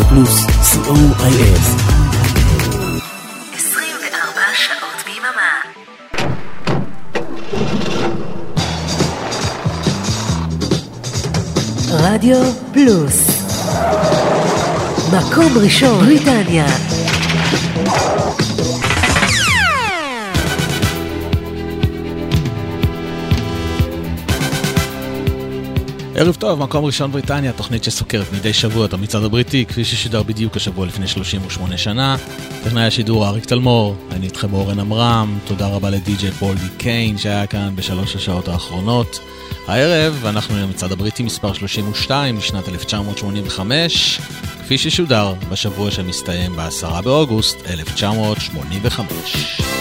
רדיו פלוס, COIF. 24 שעות ביממה. רדיו פלוס, מקום ראשון בריטניה. ערב טוב, מקום ראשון בריטניה, תוכנית שסוקרת מדי שבוע את המצעד הבריטי, כפי ששידר בדיוק השבוע לפני 38 שנה. טכנאי השידור אריק תלמור, אני איתכם אורן אמרם, תודה רבה לדי-ג'יי פול די קיין שהיה כאן בשלוש השעות האחרונות. הערב אנחנו עם המצעד הבריטי מספר 32 משנת 1985, כפי ששודר בשבוע שמסתיים ב10 באוגוסט 1985.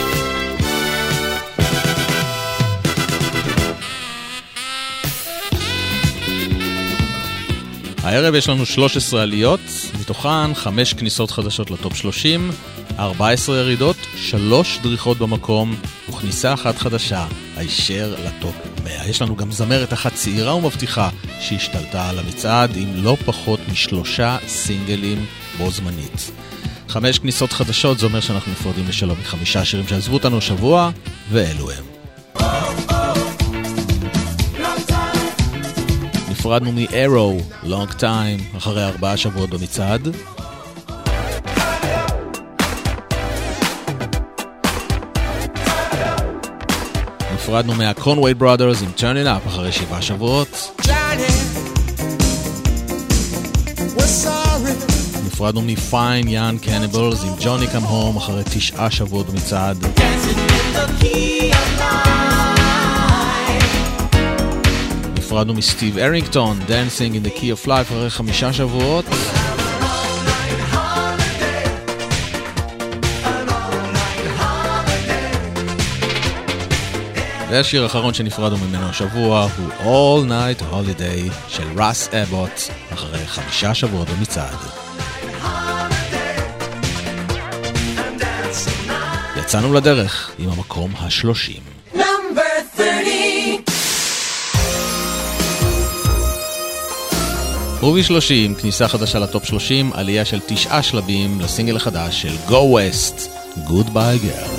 הערב יש לנו 13 עליות, מתוכן 5 כניסות חדשות לטופ 30, 14 ירידות, 3 דריכות במקום, וכניסה אחת חדשה, הישר לטופ 100. יש לנו גם זמרת אחת צעירה ומבטיחה שהשתלטה על המצעד עם לא פחות מ3 סינגלים בו זמנית. 5 כניסות חדשות, זה אומר שאנחנו נפרדים לשלום מ5 שירים שעזבו אותנו השבוע, ואלו הם. נפרדנו מ-Arrow, Long Time, אחרי 4 שבועות במצעד. נפרדנו מה-Conway Brothers עם Turn It Up, אחרי 7 שבועות. נפרדנו מ-Fine Young Cannibals עם Johnny Come Home, אחרי 9 שבועות במצעד. נפרדנו מסטיב ארינגטון, Dancing in the Key of Life, אחרי 5 שבועות. והשיר האחרון שנפרדנו ממנו השבוע הוא All Night Holiday של רוס אבוט, אחרי 5 שבועות במצעד. יצאנו לדרך עם המקום ה-30. רובי 30, כניסה חדשה לטופ 30, עלייה של 9 שלבים לסינגל החדש של Go West, Goodbye Girl.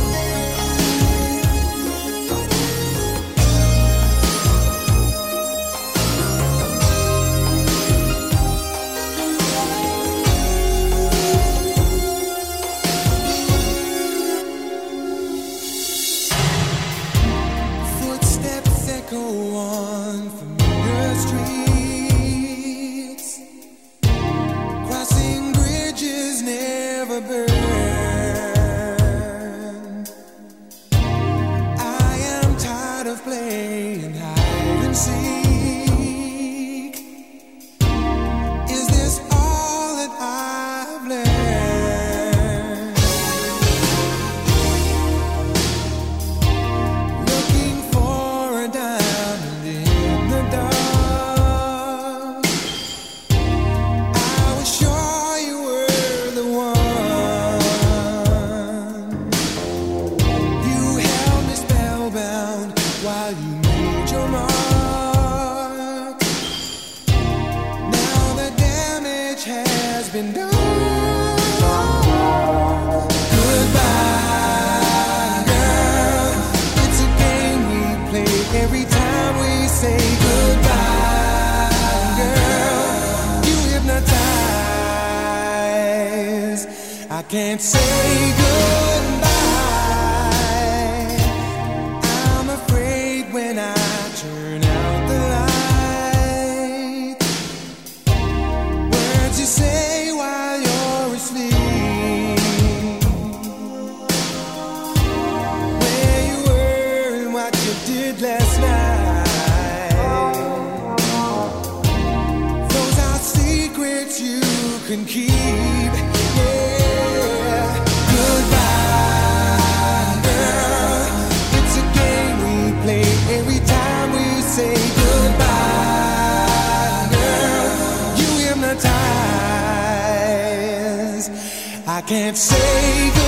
Can't say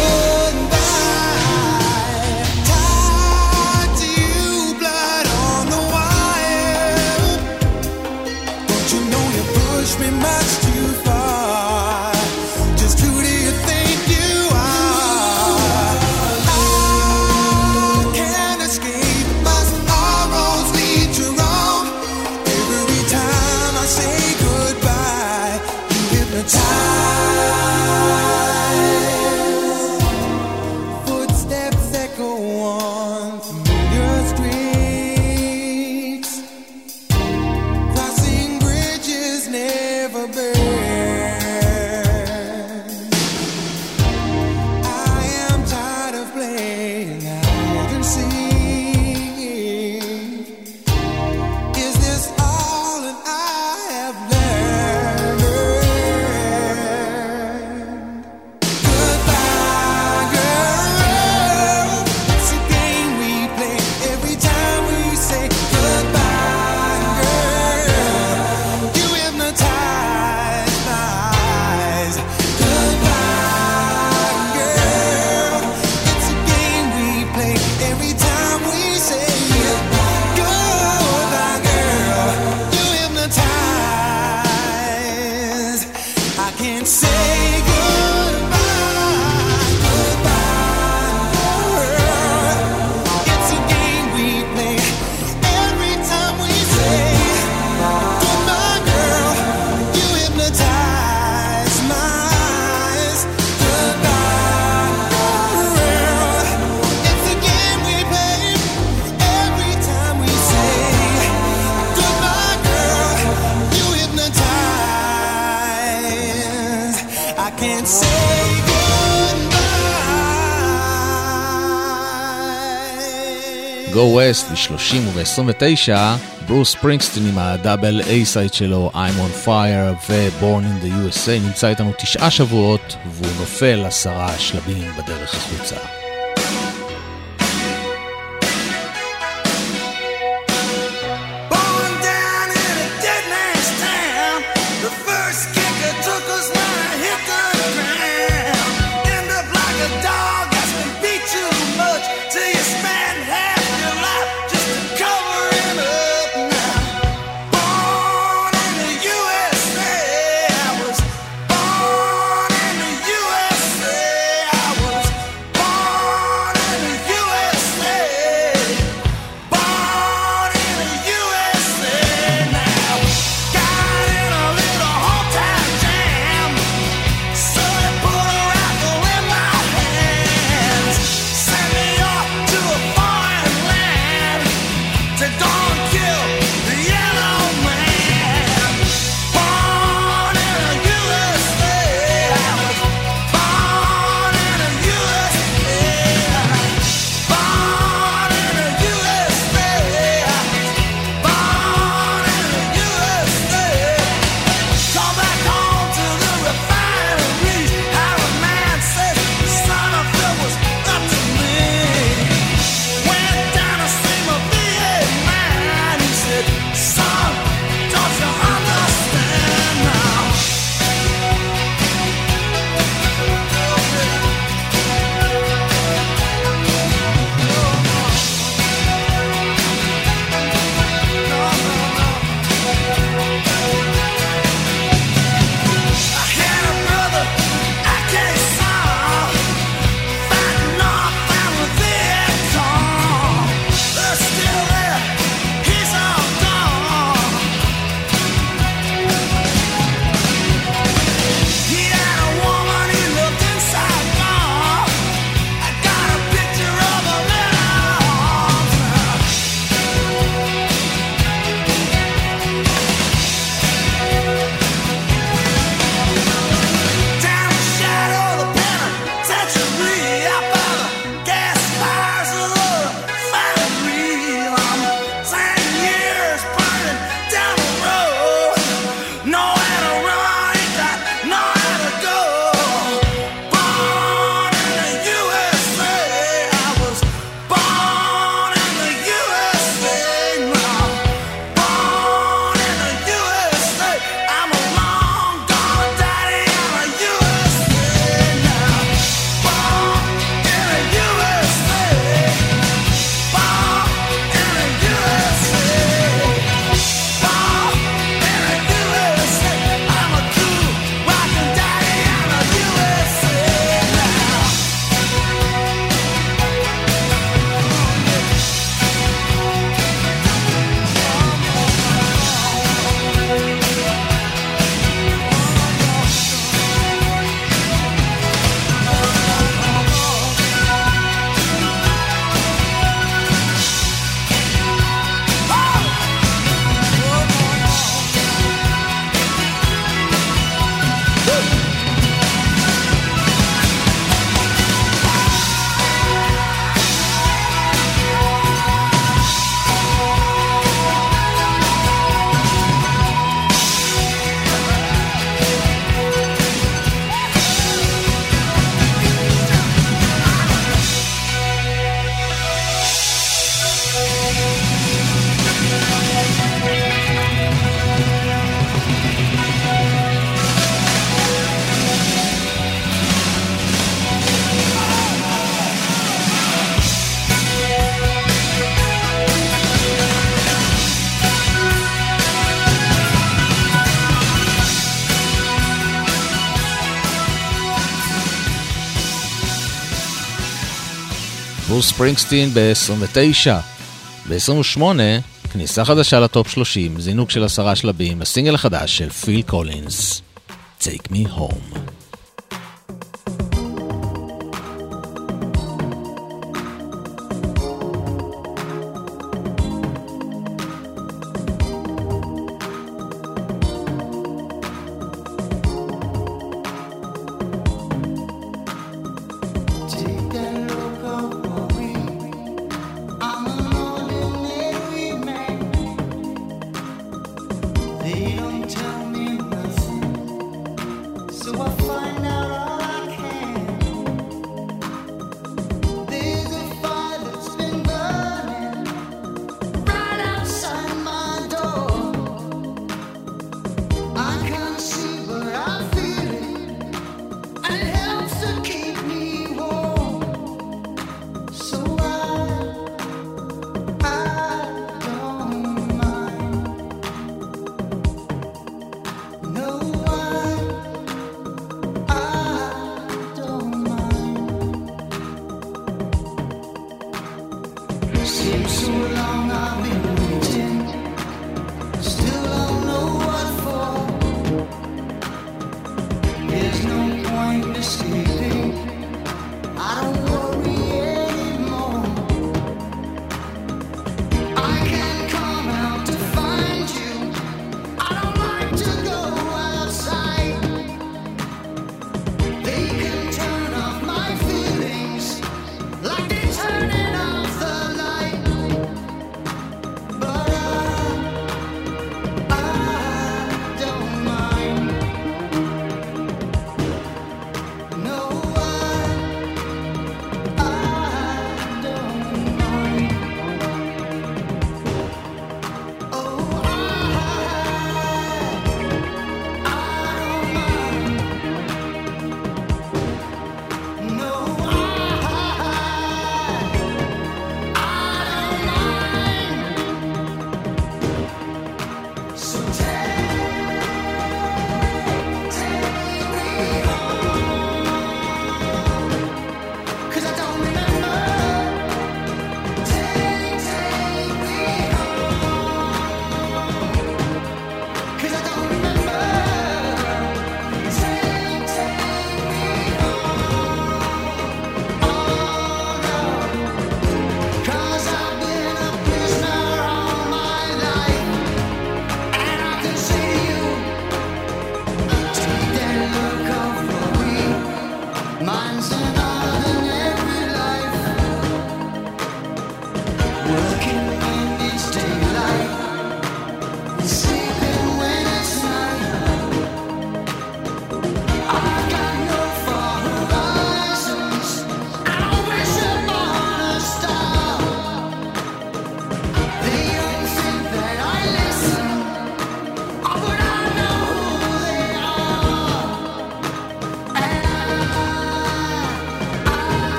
goodbye. Tied to you, blood on the wire. Don't you know you pushed me much too far? streets, crossing bridges never burn. I am tired of playing hide and seek. Is this all that I have learned? Goodbye, girl. It's a game we play every time we say goodbye, girl. You hypnotize my eyes. Goodbye, girl. It's a game we play every time we say goodbye, girl. You hypnotize. I can't say goodbye, girl. It's a game we play every time we say goodbye, girl. You hypnotize my eyes. Goodbye, girl. It's a game we play every time we say goodbye, girl. You hypnotize. I can't say goodbye. Go West ב-30 וב-29, ברוס ספרינגסטין עם הדאבל A-סייד שלו, I'm on Fire ו-Born in the USA, נמצא איתנו 9 שבועות והוא נופל 10 שלבים בדרך החוצה. Born down in a dead man's town. The first kicker took us when I hit the ground. End up like a dog that's been beat too much till you spend half your life just to cover him up now. Born in the USA, I was born in the USA, I was born ברוס ספרינגסטין ב-29. ב-28, כניסה חדשה לטופ 30, זינוק של 10 שלבים, הסינגל החדש של פיל קולינס, Take Me Home. They don't tell me nothing, so I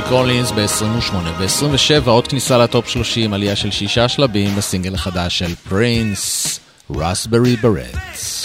קולינס ב-28. ב-27 עוד כניסה לטופ 30, עלייה של 6 שלבים בסינגל החדש של פרינס, רסברי ברטס.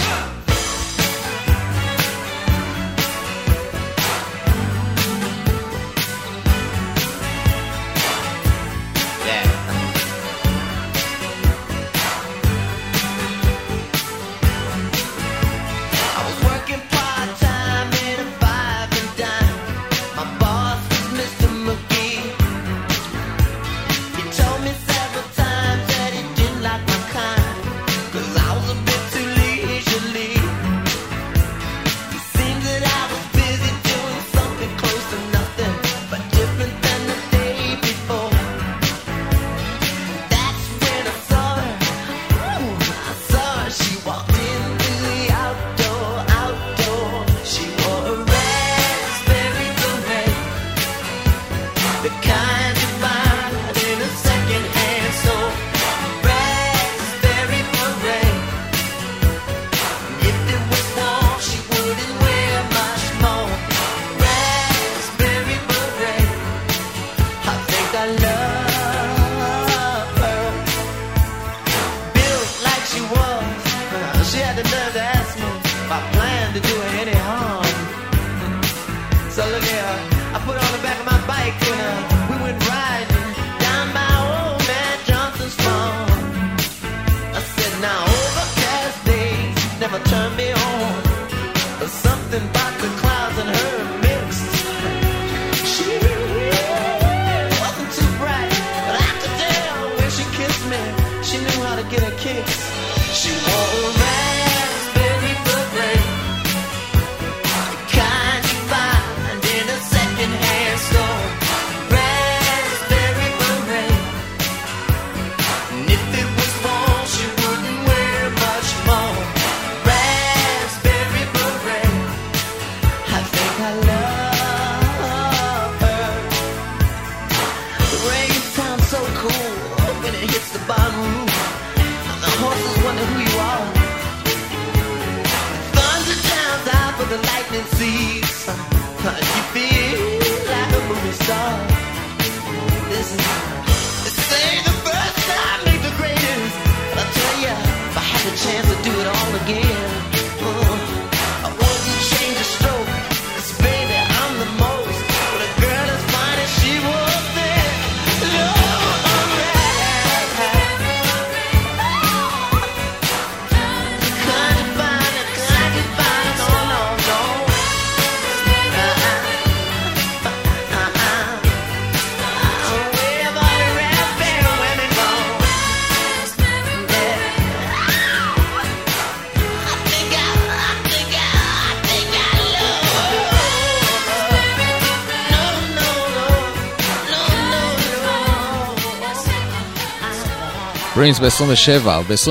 פרינס ב-27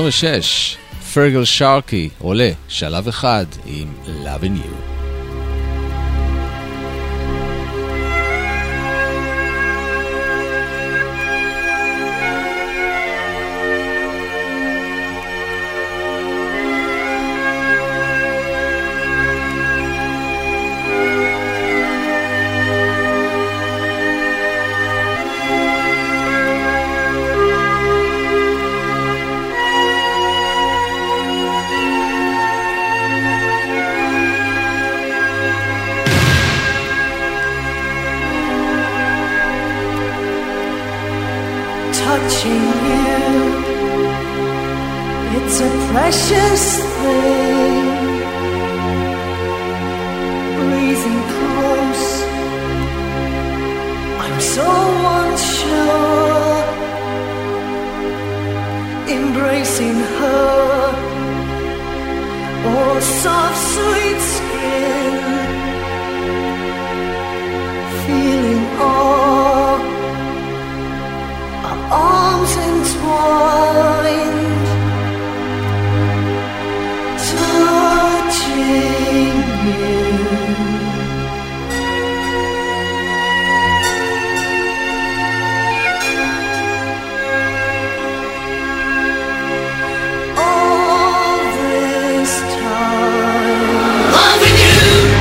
וב-26 פרגל שרקי עולה שלב אחד עם Loving You. Loving you.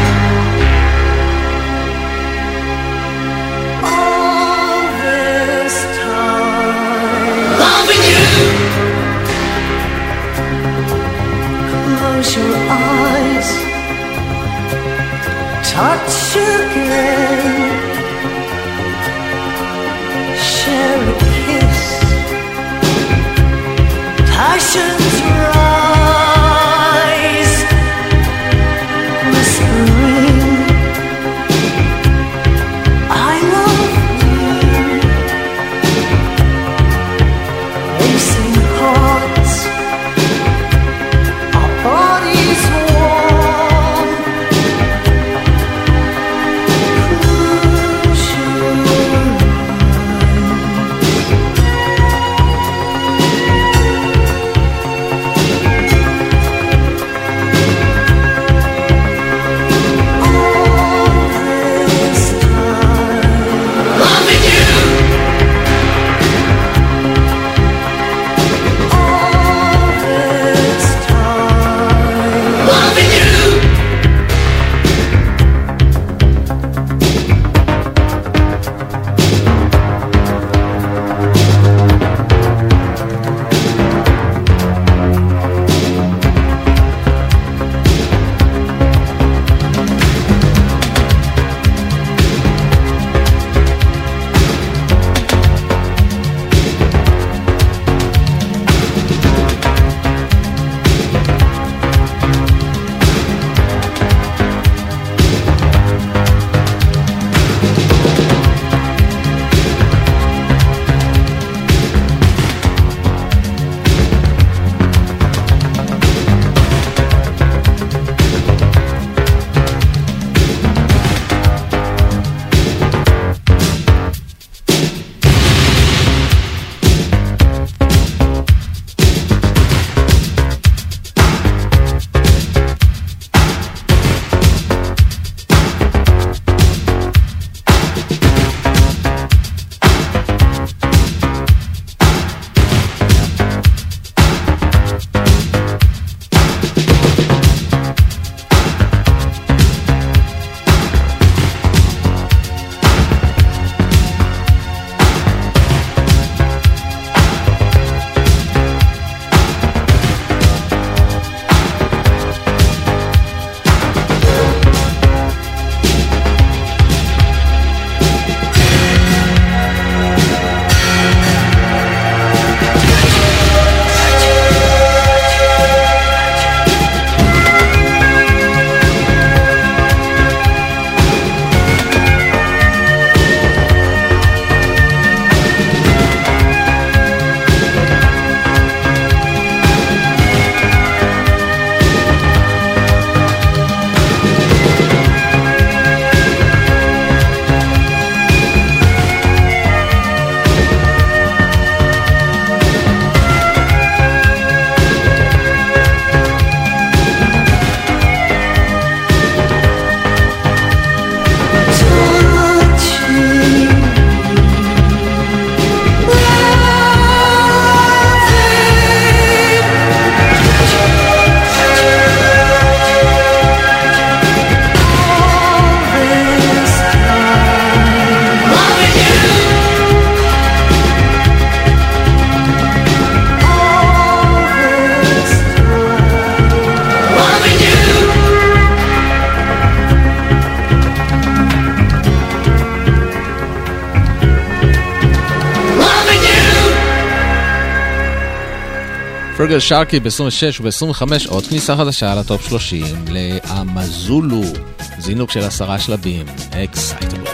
פרגל שרקי ב-26 וב-25 עוד כניסה חדשה לטופ 30 לאמזולו, זינוק של 10 שלבים, Excitable.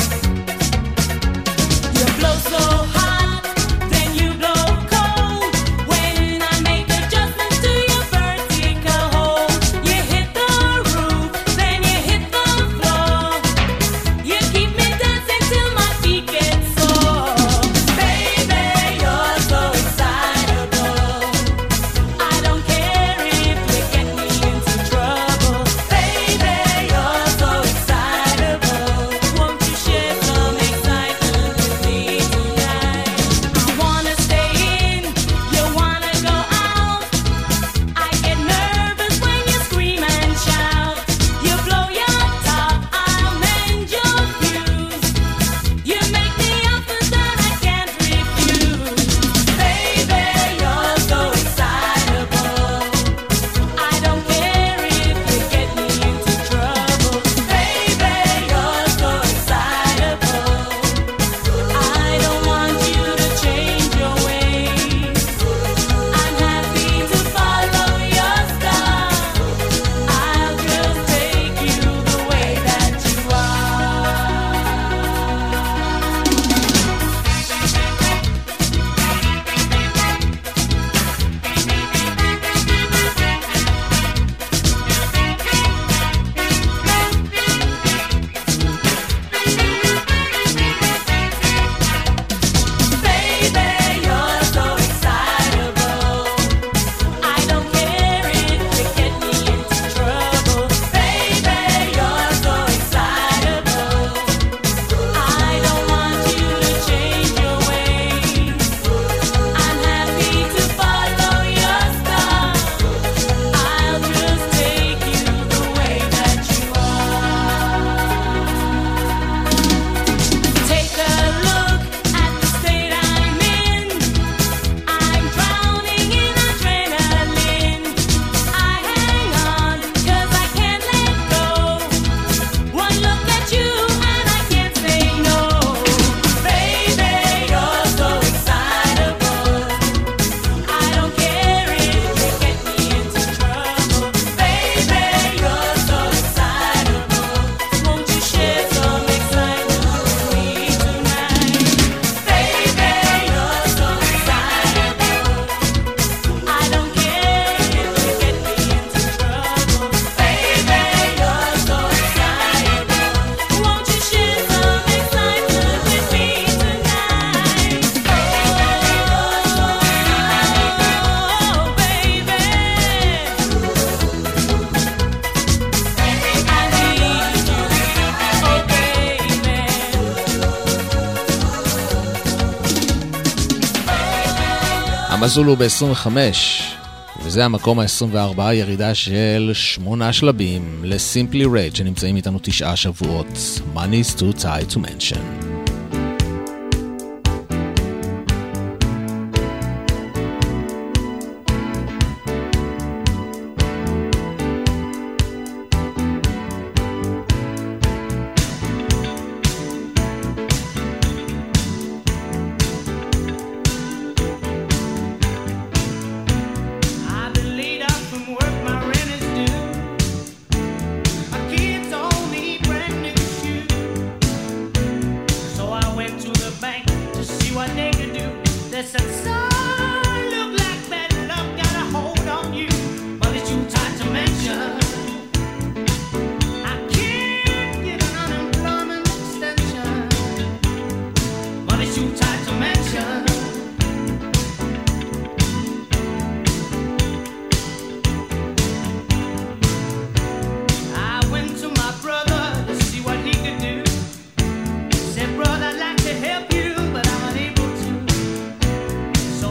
אמזולו ב-25, וזה המקום ה-24, ירידה של 8 שלבים לסימפלי רייד שנמצאים איתנו 9 שבועות. Money's too tight to mention. So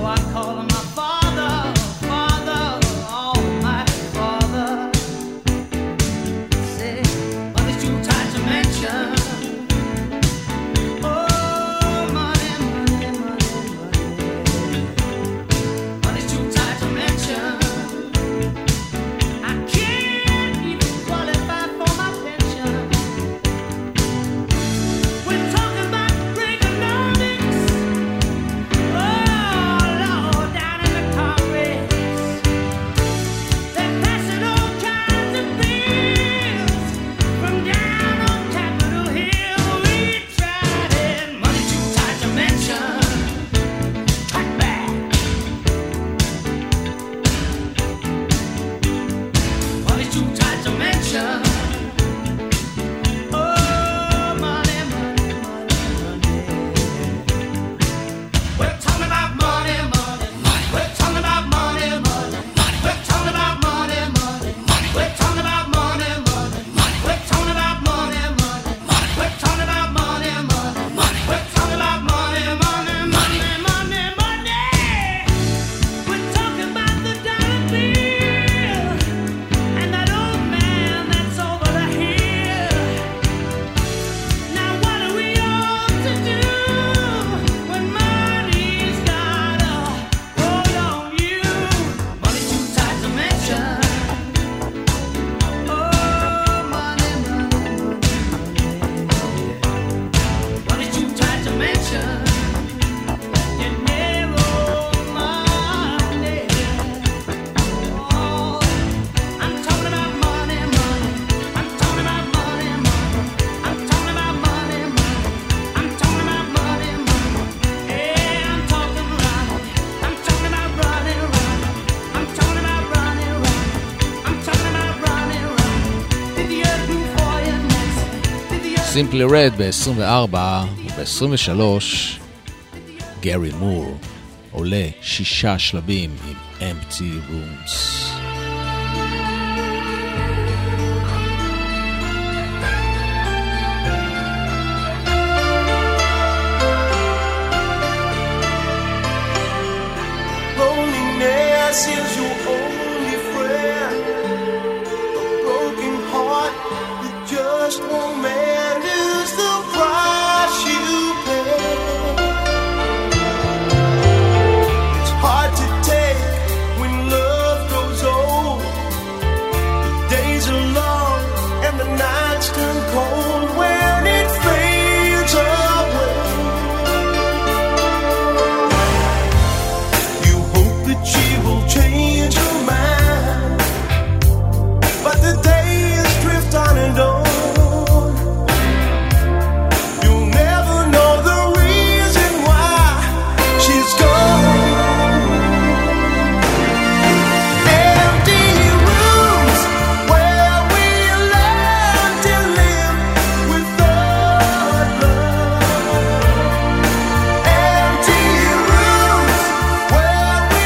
סימפלי רד ב-24 וב-23 גרי מור עולה 6 שלבים עם Empty Rooms. Loneliness is your only friend. A broken heart that just won't mend is the price you pay. It's hard to take when love grows old. The days are long and the nights turn cold when it fades away. She will change her mind, but the days drift on and on. You'll never know the reason why she's gone. Empty rooms where we learn to live without love. Empty rooms where we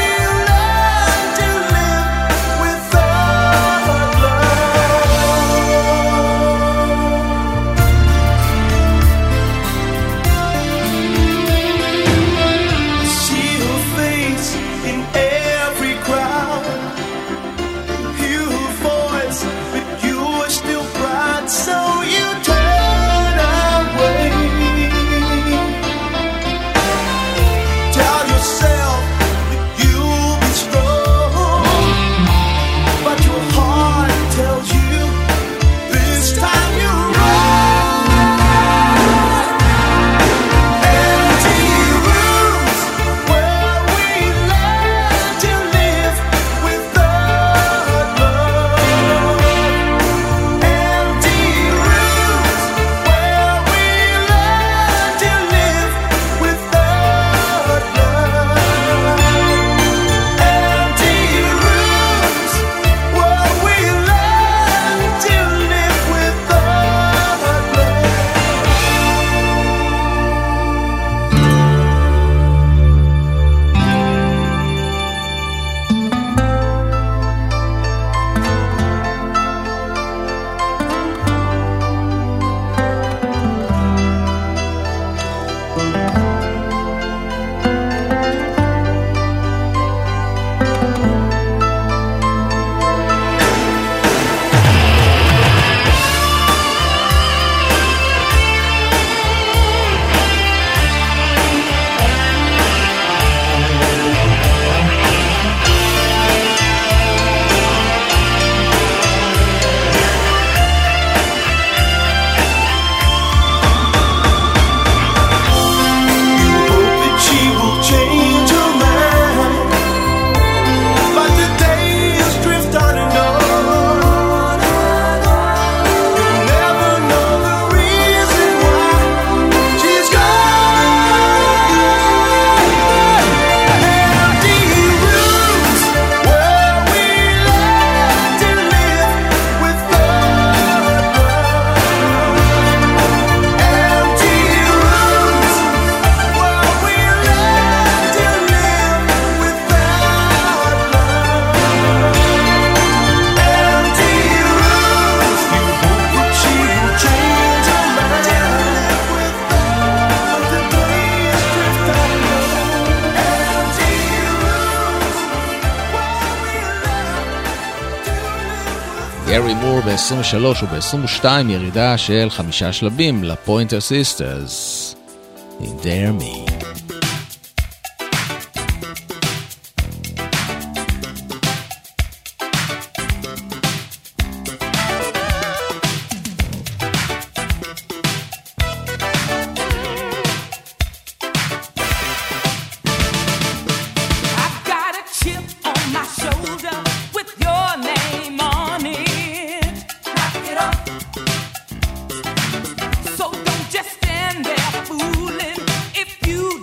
גרי מור ב-23 וב-22 ירידה של 5 שלבים לפוינטר סיסטרס עם Dare Me. So don't just stand there fooling if you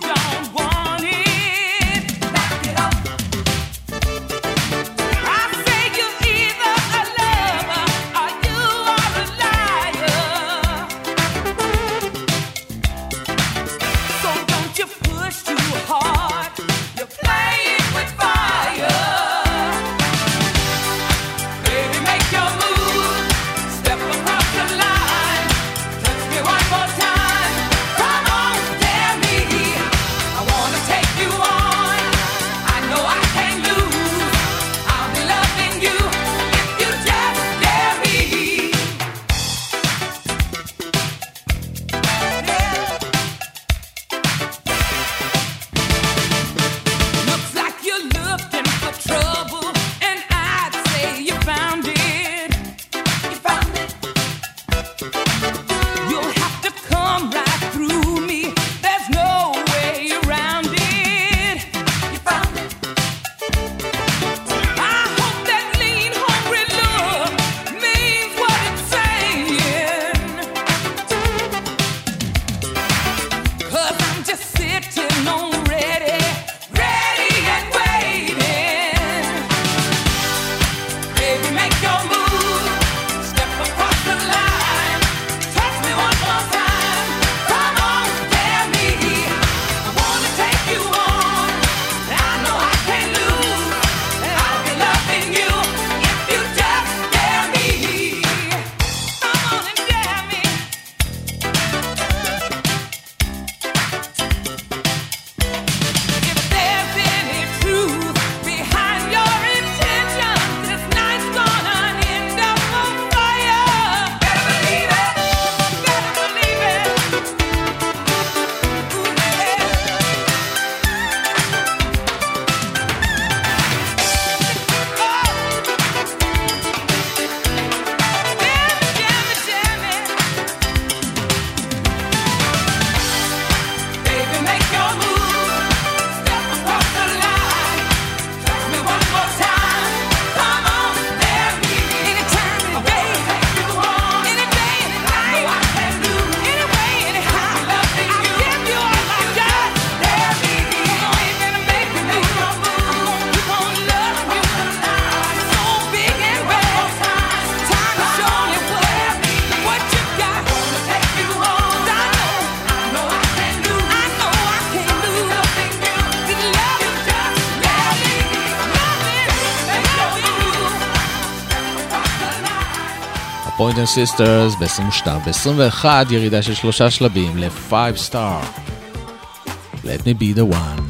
פוינטר סיסטרס ב-22, ב-21 ירידה של 3 שלבים ל-5 star. Let me be the one.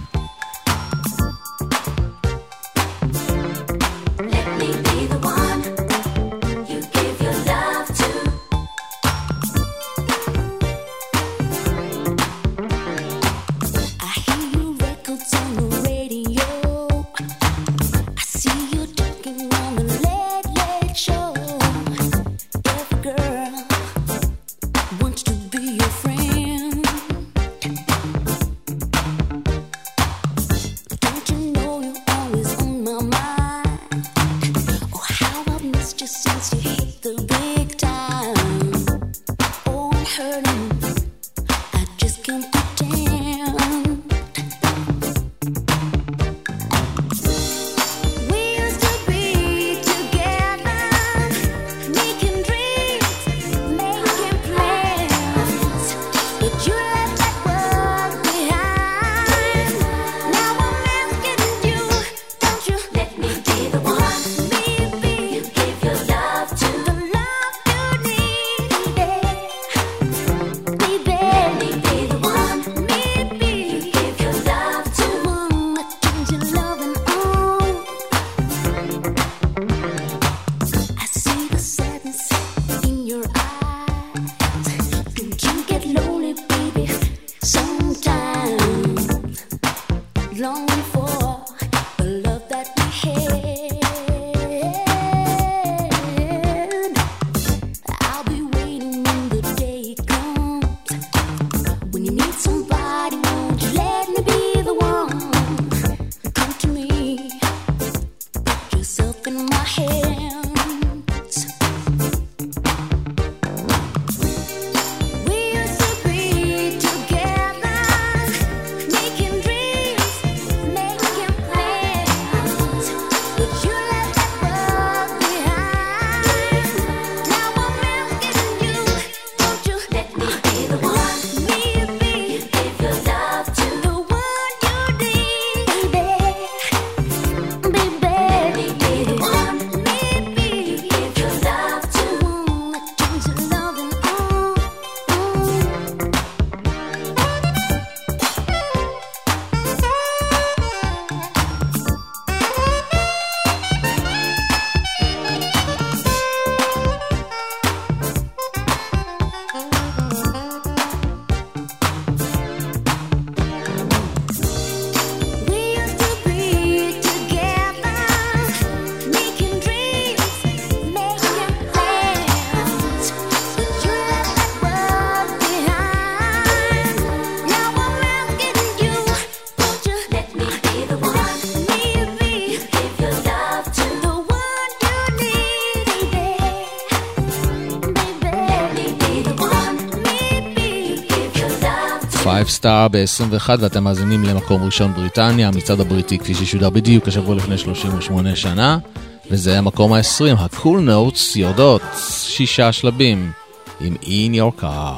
סטאר ב-21 ואתם מאזינים למקום ראשון בריטניה, המצעד הבריטי כפי ששודר בדיוק השבוע לפני 38 שנה, וזה המקום ה-20, ה-Cool Notes יורדות 6 שלבים עם In Your Car.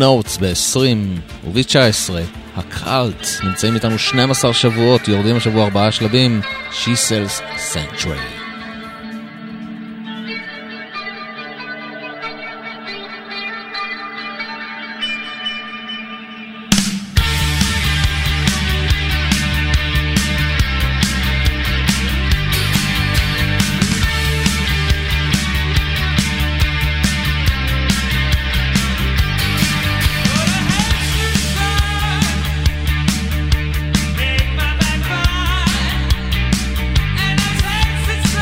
Notes ב-20 וב-19 הקאלט נמצאים איתנו 12 שבועות, יורדים השבוע 4 שלבים. She Sells Sanctuary. Make my back cry, and I sense it's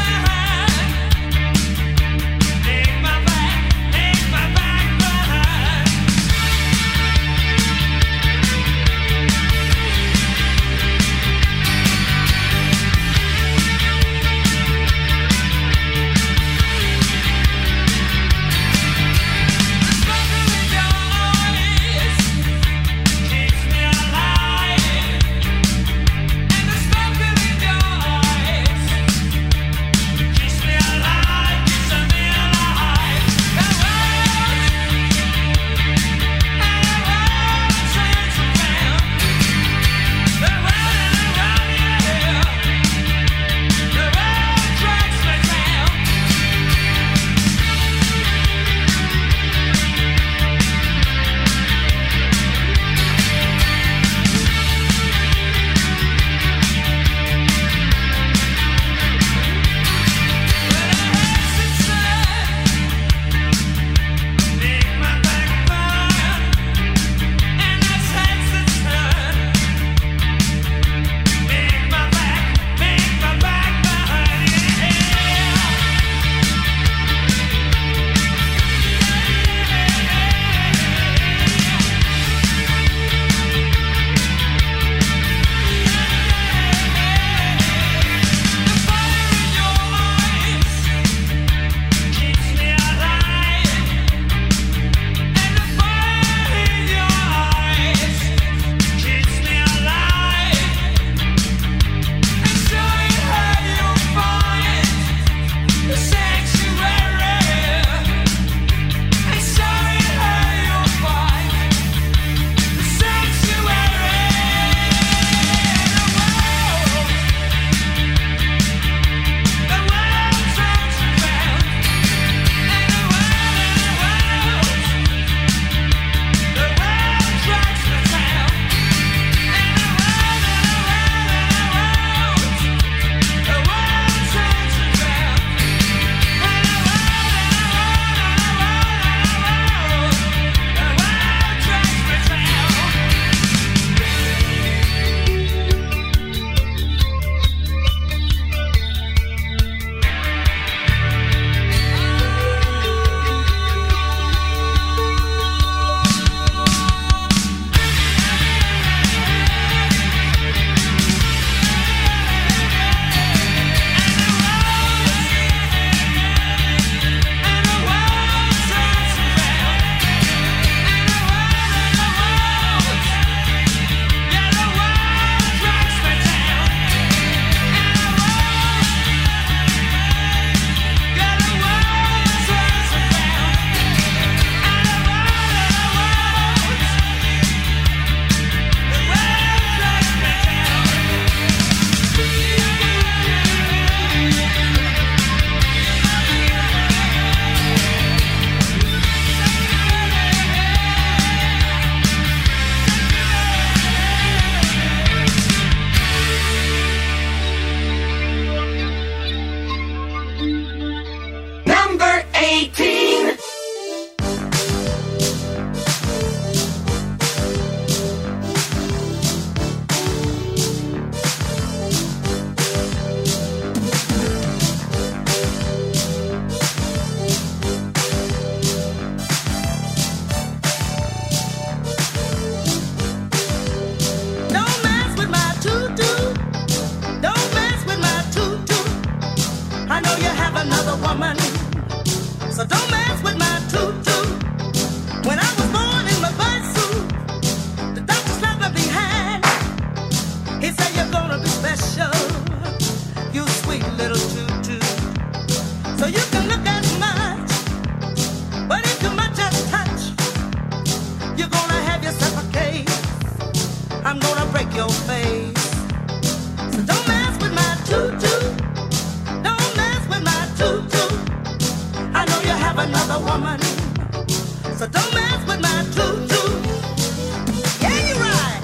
break your face. So don't mess with my tutu. Don't mess with my tutu. I know you have another woman. So don't mess with my tutu. Yeah, you're right.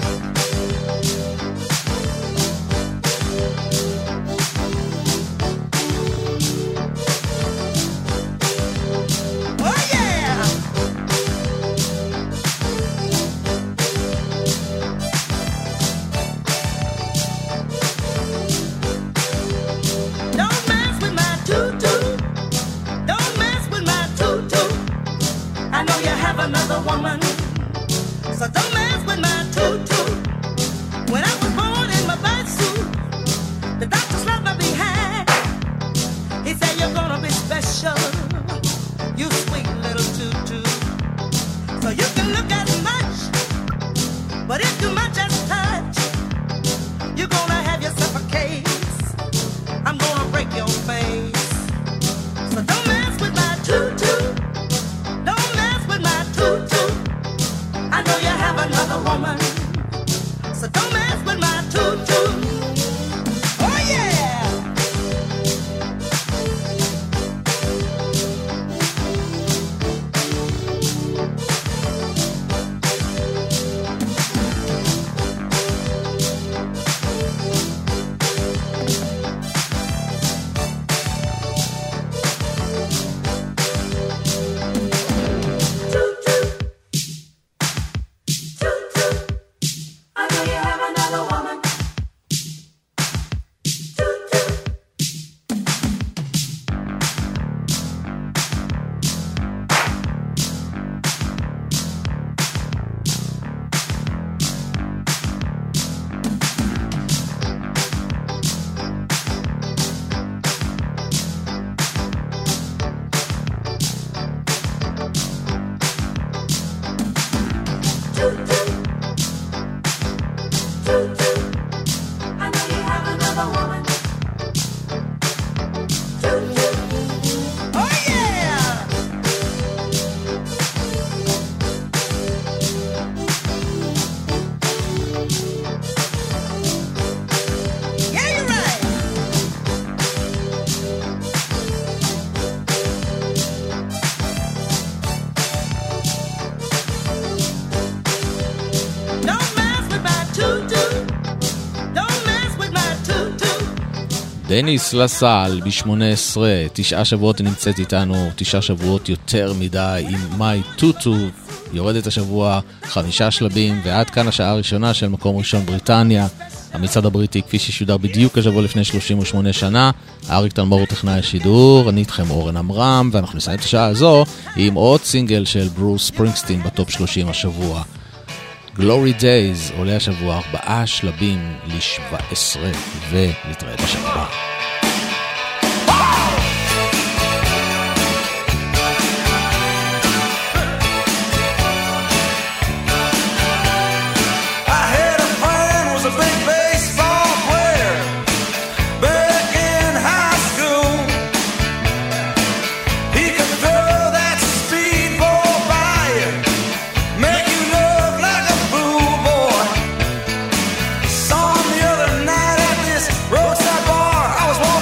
Oh yeah. Don't mess with my tutu. Don't mess with my tutu. I know you have another woman. So don't mess with my tutu. When I was born in my birth suit, the doctor slapped my behind. He said you're gonna be special. You sweet little tutu. So you can look as much, but if too much as touch, you're gonna have yourself a case. I'm gonna break your face. So don't mess with my tutu. Don't mess with my tutu. I know you have another woman. So don't mess with my tutu. Oh yeah. דניס לסל ב-18, 9 שבועות נמצאת איתנו, 9 שבועות יותר מדי עם מיי טוטו, יורדת השבוע 5 שלבים, ועד כאן השעה הראשונה של מקום ראשון בריטניה, המצעד הבריטי כפי ששודר בדיוק השבוע לפני 38 שנה, אריק תלמור טכנאי השידור, אני איתכם אורן אמרם, ואנחנו נסיים את השעה הזו עם עוד סינגל של ברוס ספרינגסטין בטופ 30 השבוע. Glory Days עולה השבוע 4 שלבים ל-17 ונתראה בשבוע. Roadside bar, I was walking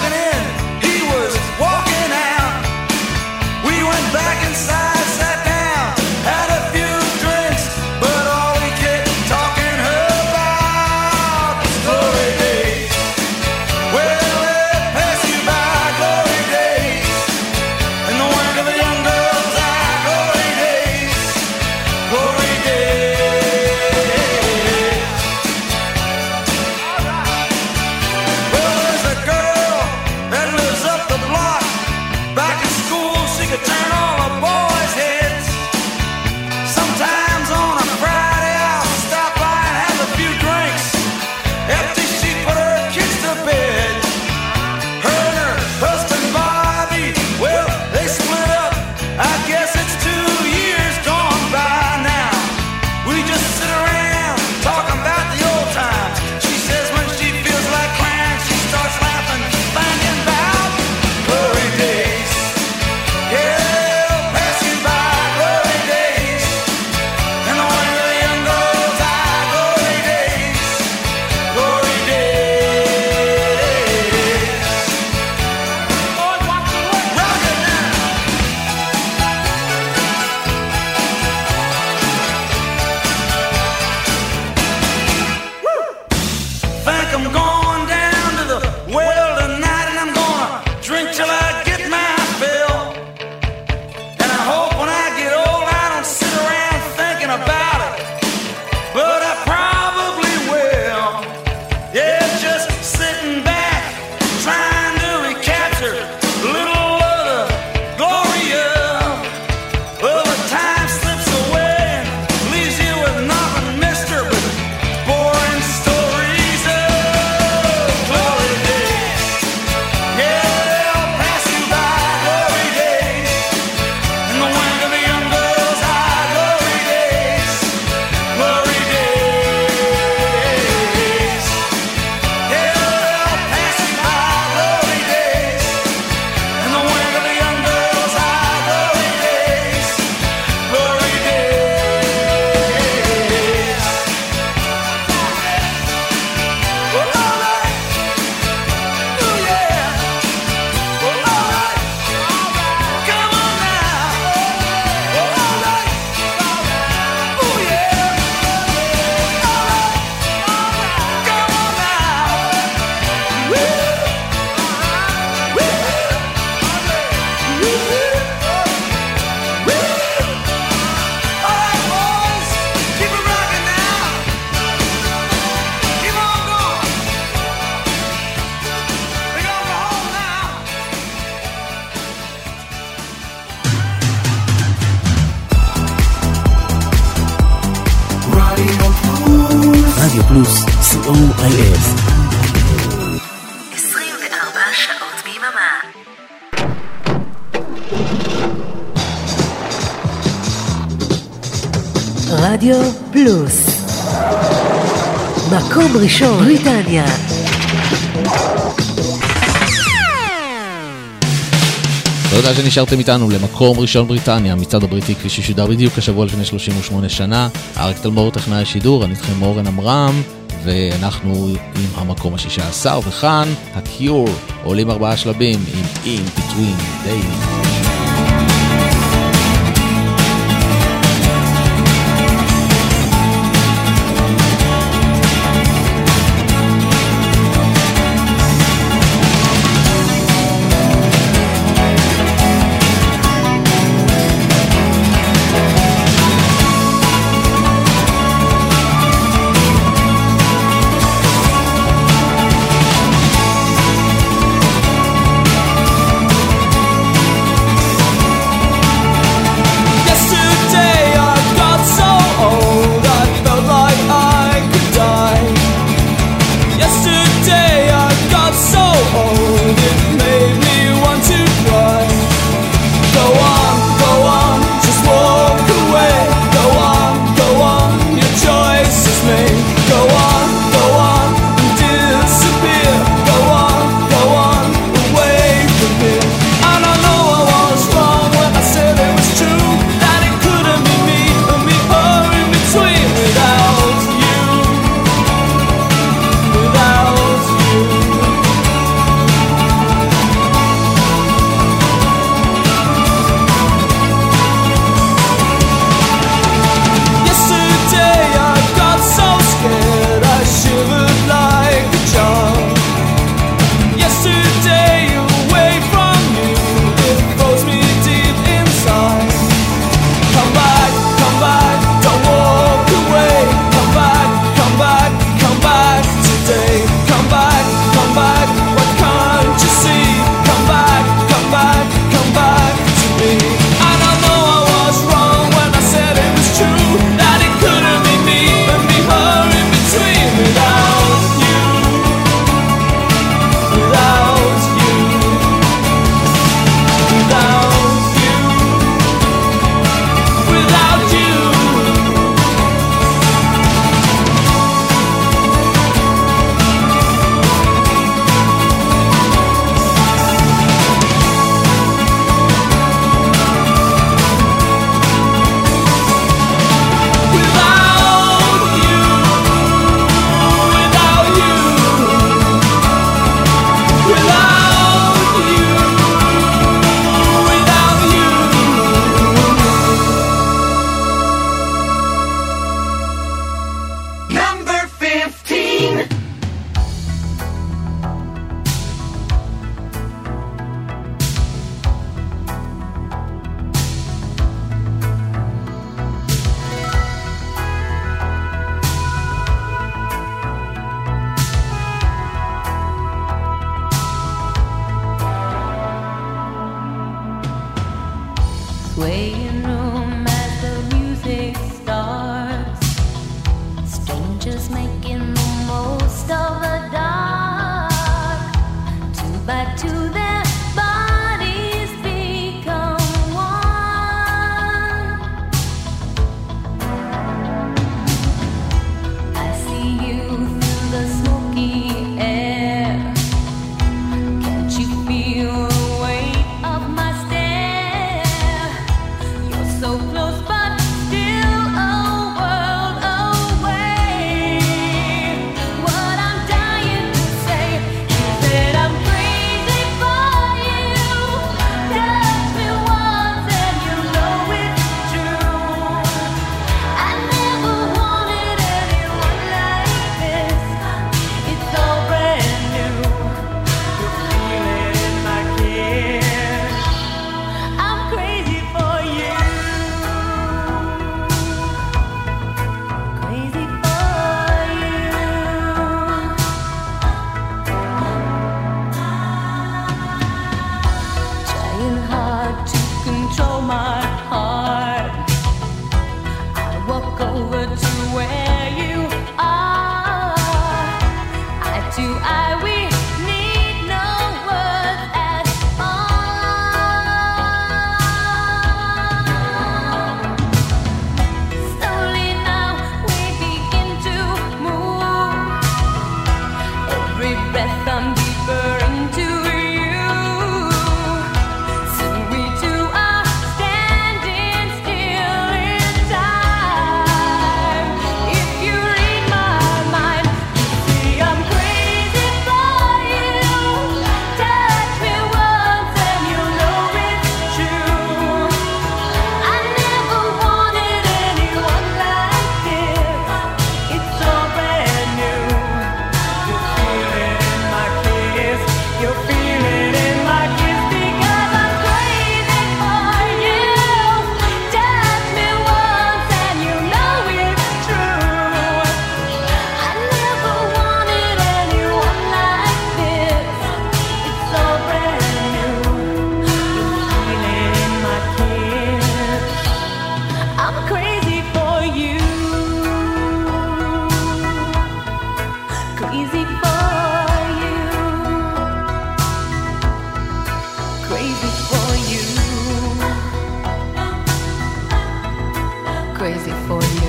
COIF 24 שעות ביממה. רדיו פלוס, מקום ראשון בריטניה. תודה שנשארתם איתנו למקום ראשון בריטניה, מצד הבריטי כפי ששודר בדיוק השבוע לפני 38 שנה. אריק תלמור טכנאי השידור, אני איתכם אורן אמרם, ואנחנו עם המקום ה-16, וכאן הקיור עולים 4 שלבים עם In Between Days. crazy for you. Crazy for you. Crazy for you.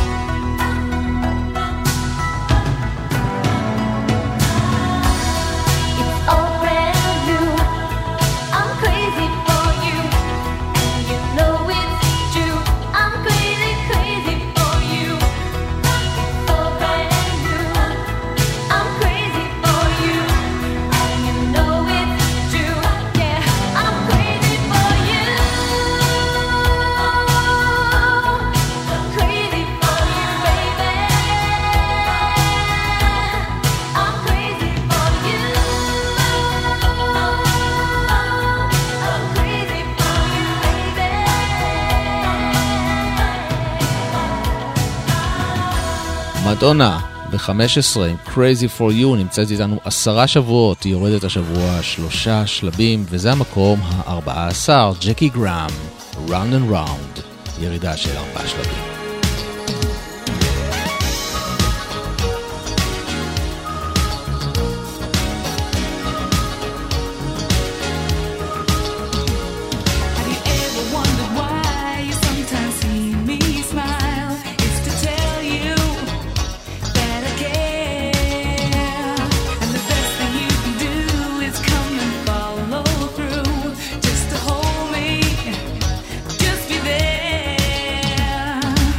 It's all brand new. I'm crazy for you, and you know it's true. I'm crazy, crazy for you. It's all brand new. I'm crazy for you, and you know it's true. Yeah, I'm crazy for you. Crazy for you, baby. I'm crazy for you. I'm crazy for you, baby. מדונה ב-15 עם Crazy for You נמצאת איתנו 10 שבועות, היא יורדת השבוע 3 שלבים וזה המקום ה-14, ג'קי גראם, Round and Round, ירידה של 4 שלבים. Have you ever wondered why you sometimes see me smile? It's to tell you that I care. And the best thing you can do is come and follow through. Just to hold me, just be there.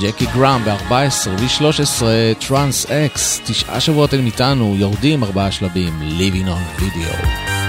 ג'קי גראם ב-14 ו-13, טרנס אקס, 9 שבועות הם איתנו, יורדים 4 שלבים, Living on Video.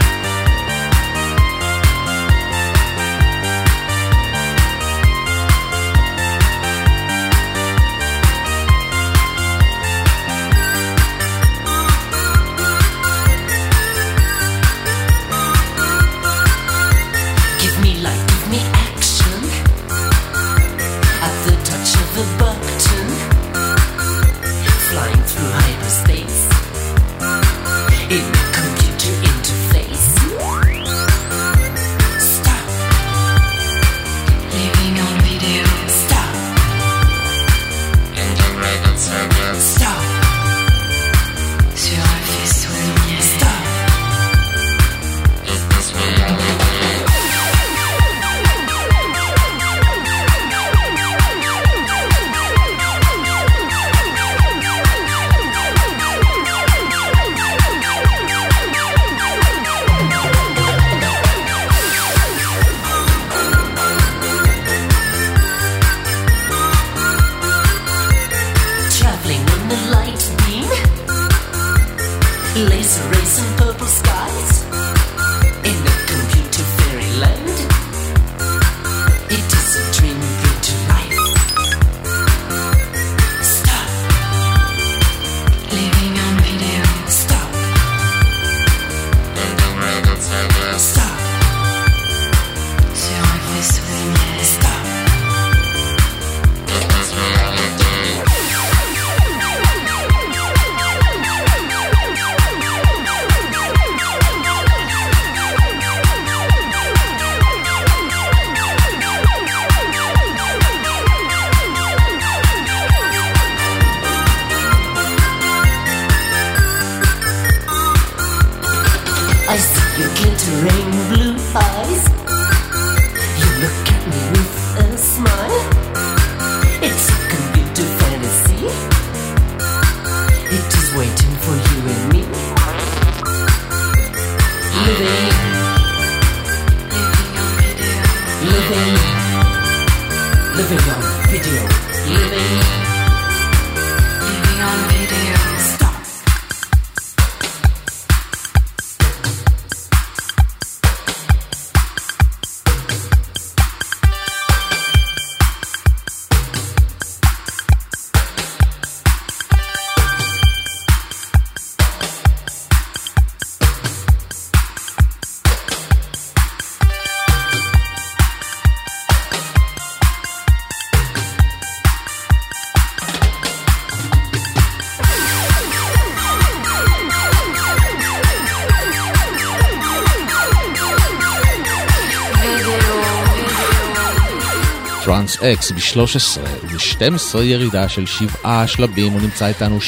טרנס אקס ב-13 וב-12 ירידה של 7 שלבים, הוא נמצא איתנו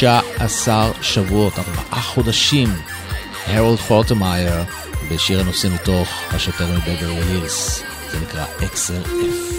16 שבועות, 4 חודשים, הרולד פורטמייר בשיר הנושא מתוך השוטר מבברלי הילס, זה נקרא XLF.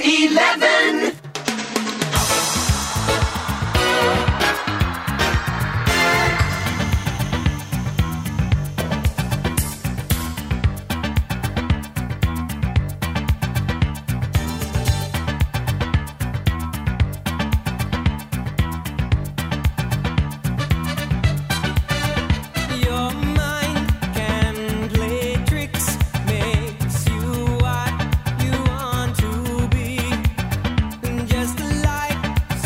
11. Your mind can play tricks, makes you what you want to be, just like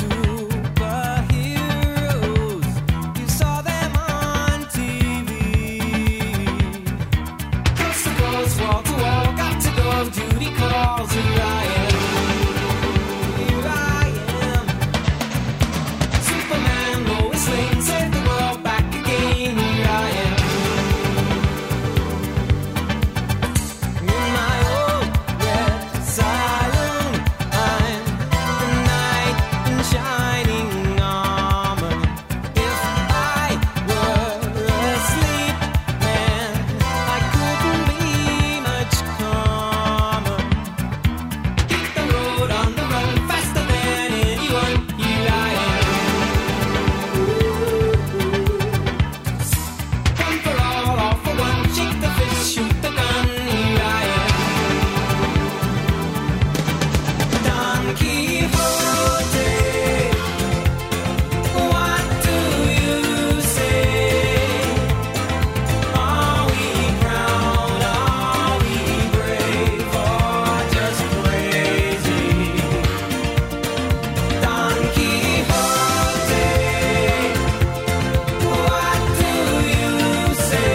superheroes. You saw them on TV. Coast to coast, wall to wall, got to go. Duty calls. Here I am. Here I am. Superman, Lois Lane, save the world back again. Here I am. In my old red saloon, I'm the knight in shining armor. If I were asleep, man, I couldn't be much calmer. Hit the road on the run, faster than anyone. Here I am. One for all for one. Shake the fist, shoot the gun. Here I am. Don Quixote, what do you say? Are we proud? Are we brave or just crazy? Don Quixote, what do you say?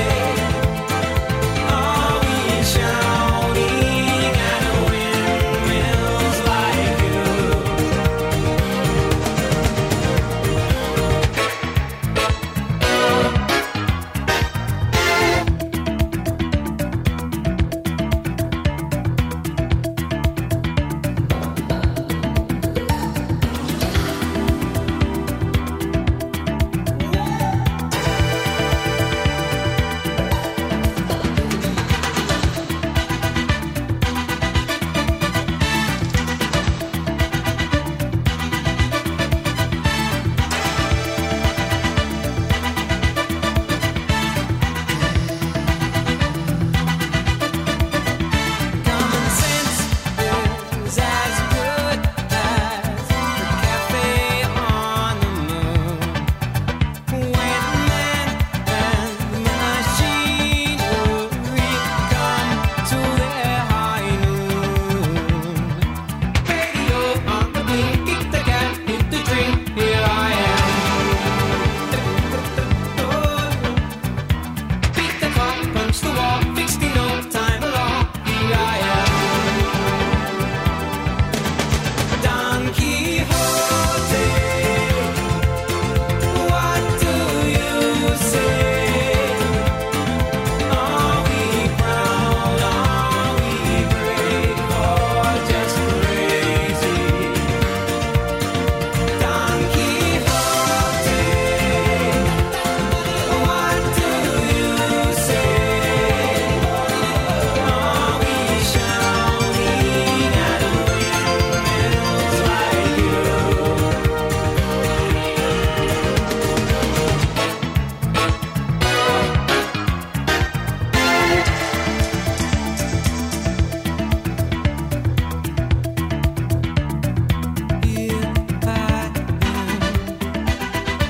Are we shouting at windmills like you? Common sense is as good as the cafe on the moon. When man and machinery come to their high noon. Radio on the beat, kick the cat, hit the dream. Here I am. Beat the clock, punch the wall, fixed in no time at all. Here I am. Don Quixote, what do you say? Are we proud? Are we brave or just crazy? Don Quixote, what do you say? Are we shouting at windmills like you? Here I am.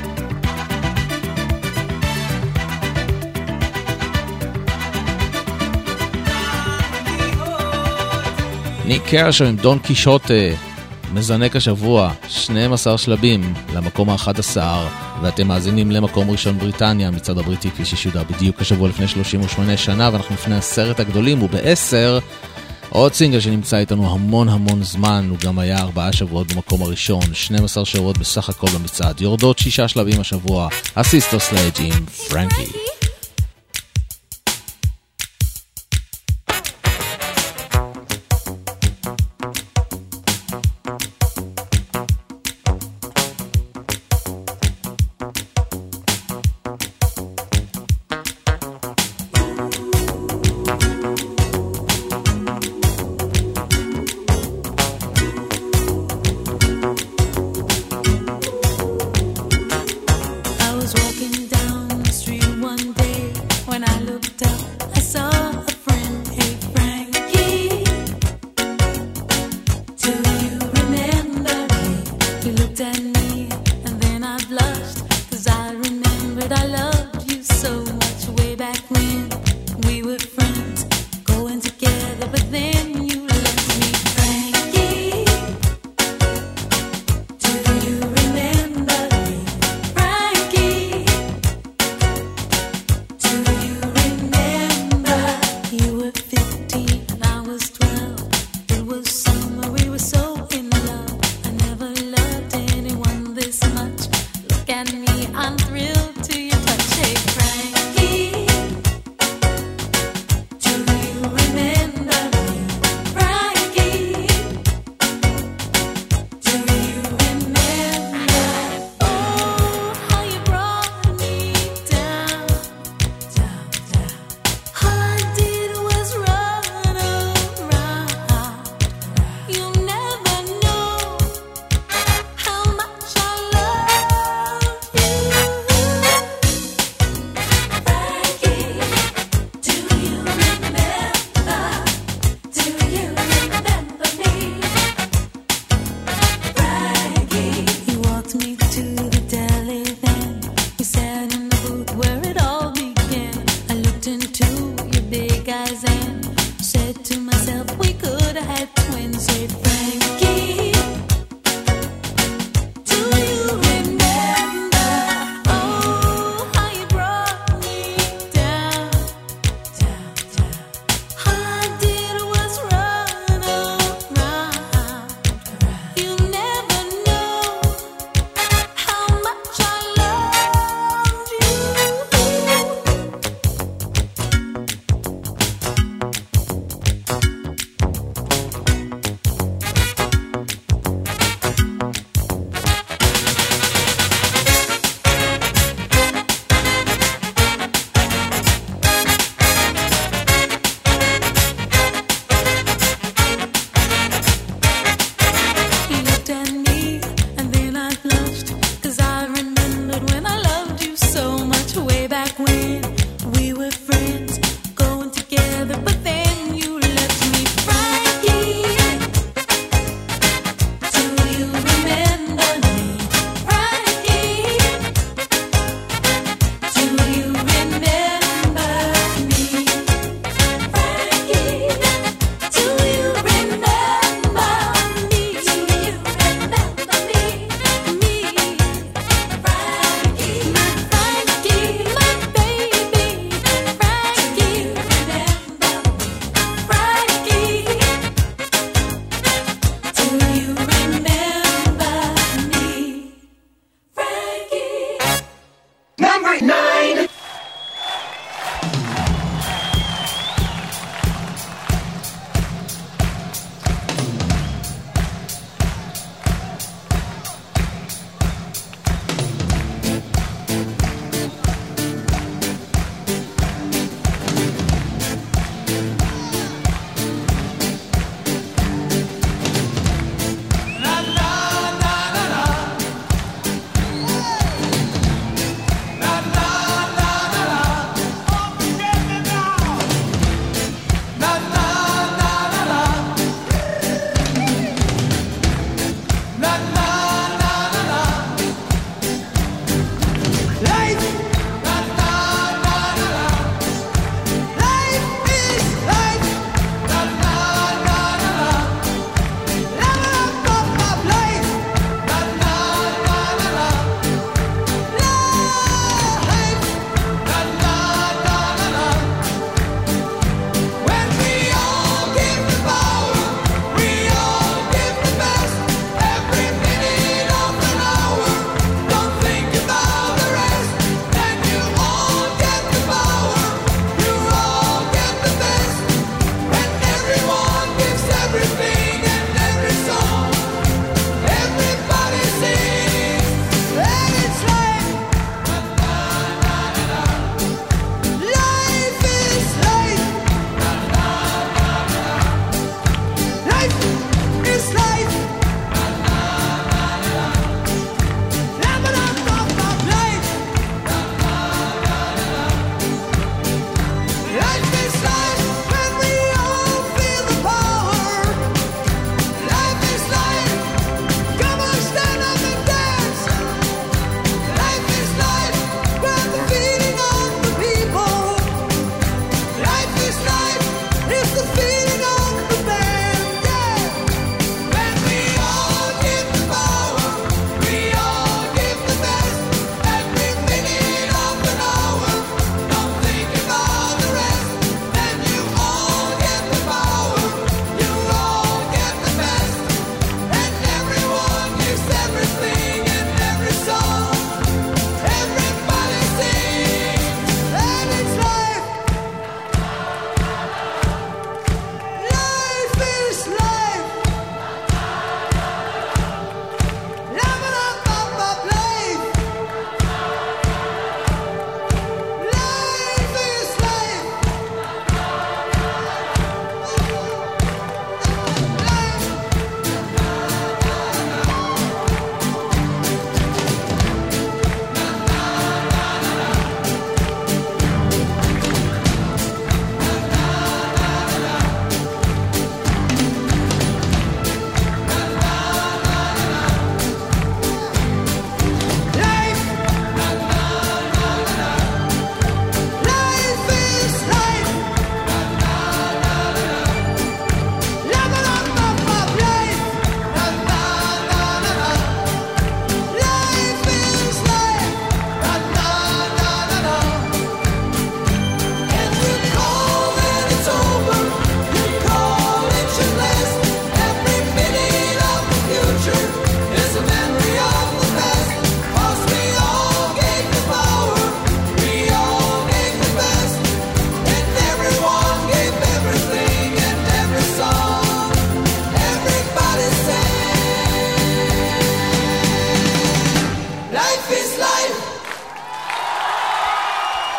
ניק קרשו עם דון קישוטה, מזנק השבוע, 12 שלבים למקום ה-11, ואתם מאזינים למקום ראשון בריטניה, מצד הבריטי כפי ששודר בדיוק השבוע לפני 38 שנה, ואנחנו לפני 10 הגדולים, וב-10 עוד סינגל שנמצא איתנו המון המון זמן, הוא גם היה 4 שבועות במקום הראשון, 12 שבועות בסך הכל במצעד, יורדות 6 שלבים השבוע, הסיסטר סלאג' עם פרנקי.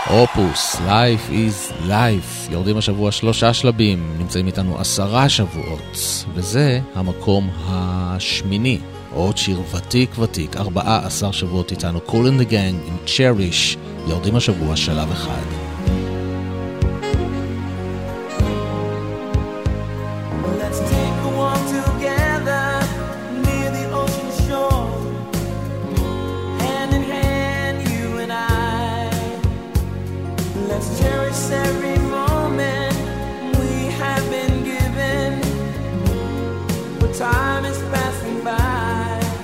אופוס, Life is Life, יורדים השבוע 3 שלבים, נמצאים איתנו 10 שבועות, וזה המקום השמיני, עוד שיר ותיק ותיק, 14 שבועות איתנו, Cool and the Gang עם Cherish, יורדים השבוע שלב אחד. Let's take a walk together near the ocean shore, hand in hand, you and I. Let's cherish every moment we have been given, but time is passing by.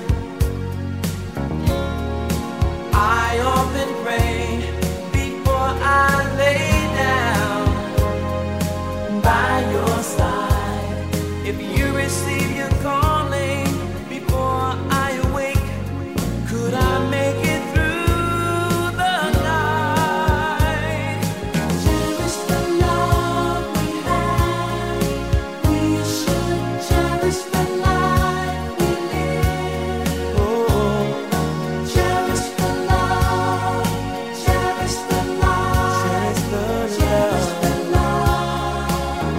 I often pray before I lay down by your side. If you receive your calling before I awake, could I make it through the night? Cherish the love we have. We should cherish the life we live. Oh, cherish the love, cherish the love, cherish the love, cherish the love.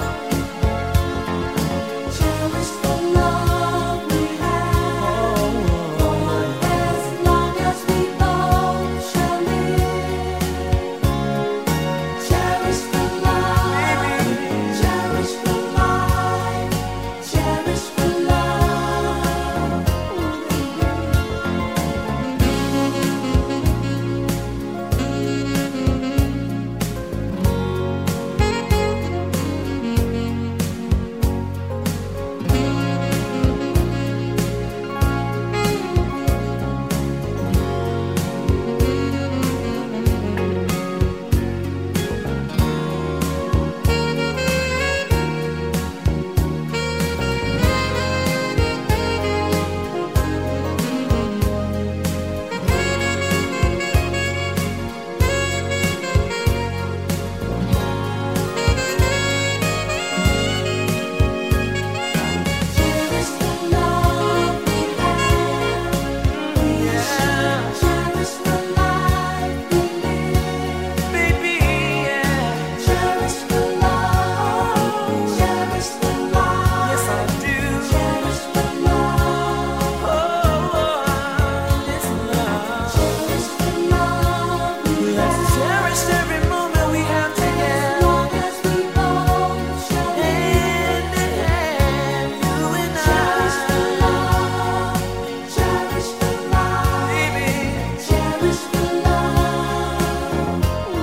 Cherish the love we have, for as long as we both shall live. Cherish the love, cherish the life, cherish the love. Cherish the love we have. Yeah. Cherish the life we live. Baby, yeah. Cherish the love. Cherish the love. Yes, I do. Cherish the love. Oh, this love. Cherish the love we have. Let's cherish every moment we have together. As long as we both shall live. Hand in hand, you and I. Cherish the love. Cherish the love. Baby, cherish the love.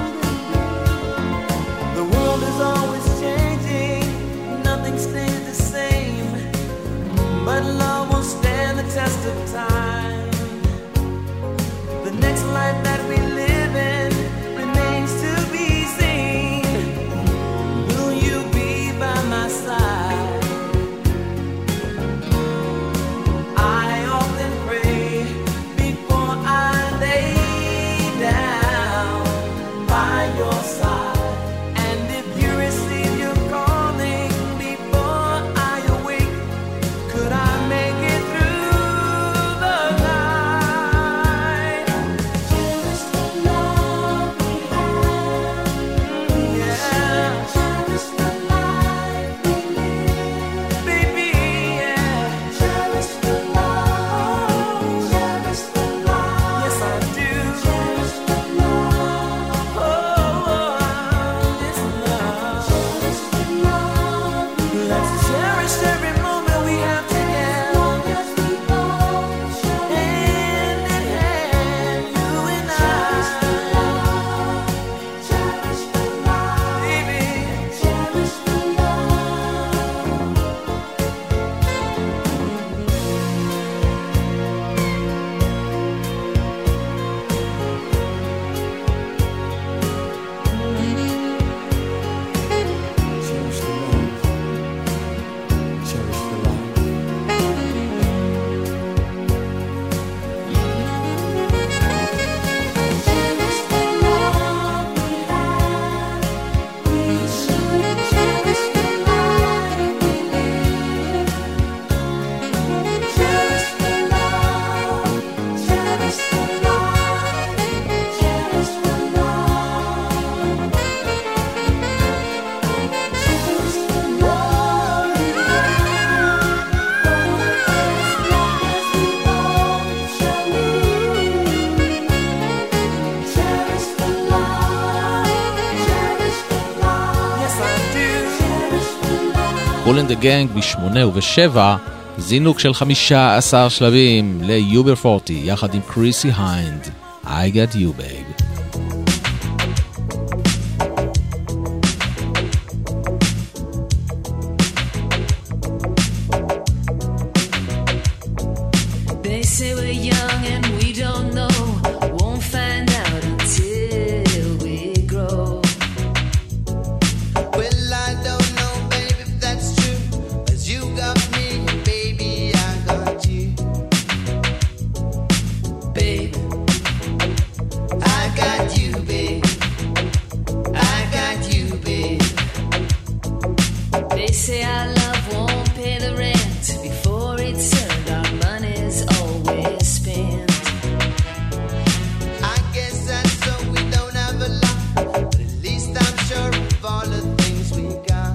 The world is always changing, nothing stays the same, but love will stand the test of time. The next life that we live in remains to be seen. Will you be by my side? I often pray before I lay down by your side. And if you receive your calling before I awake, could I make it through the קול אנד דה גנג ב8 וב7, זינוק של 15 שלבים ליובר 40 יחד עם קריסי היינד, I got you babe. They say we're young and we don't know, won't find out until we grow. Well, I don't know, baby, if that's true. 'Cause you got me, baby, I got you. Babe, I got you, babe. I got you, babe. they say our love won't pay the rent before it's earned, our money's always spent. I guess that's so we don't have a lot, but at least I'm sure of all the things we got.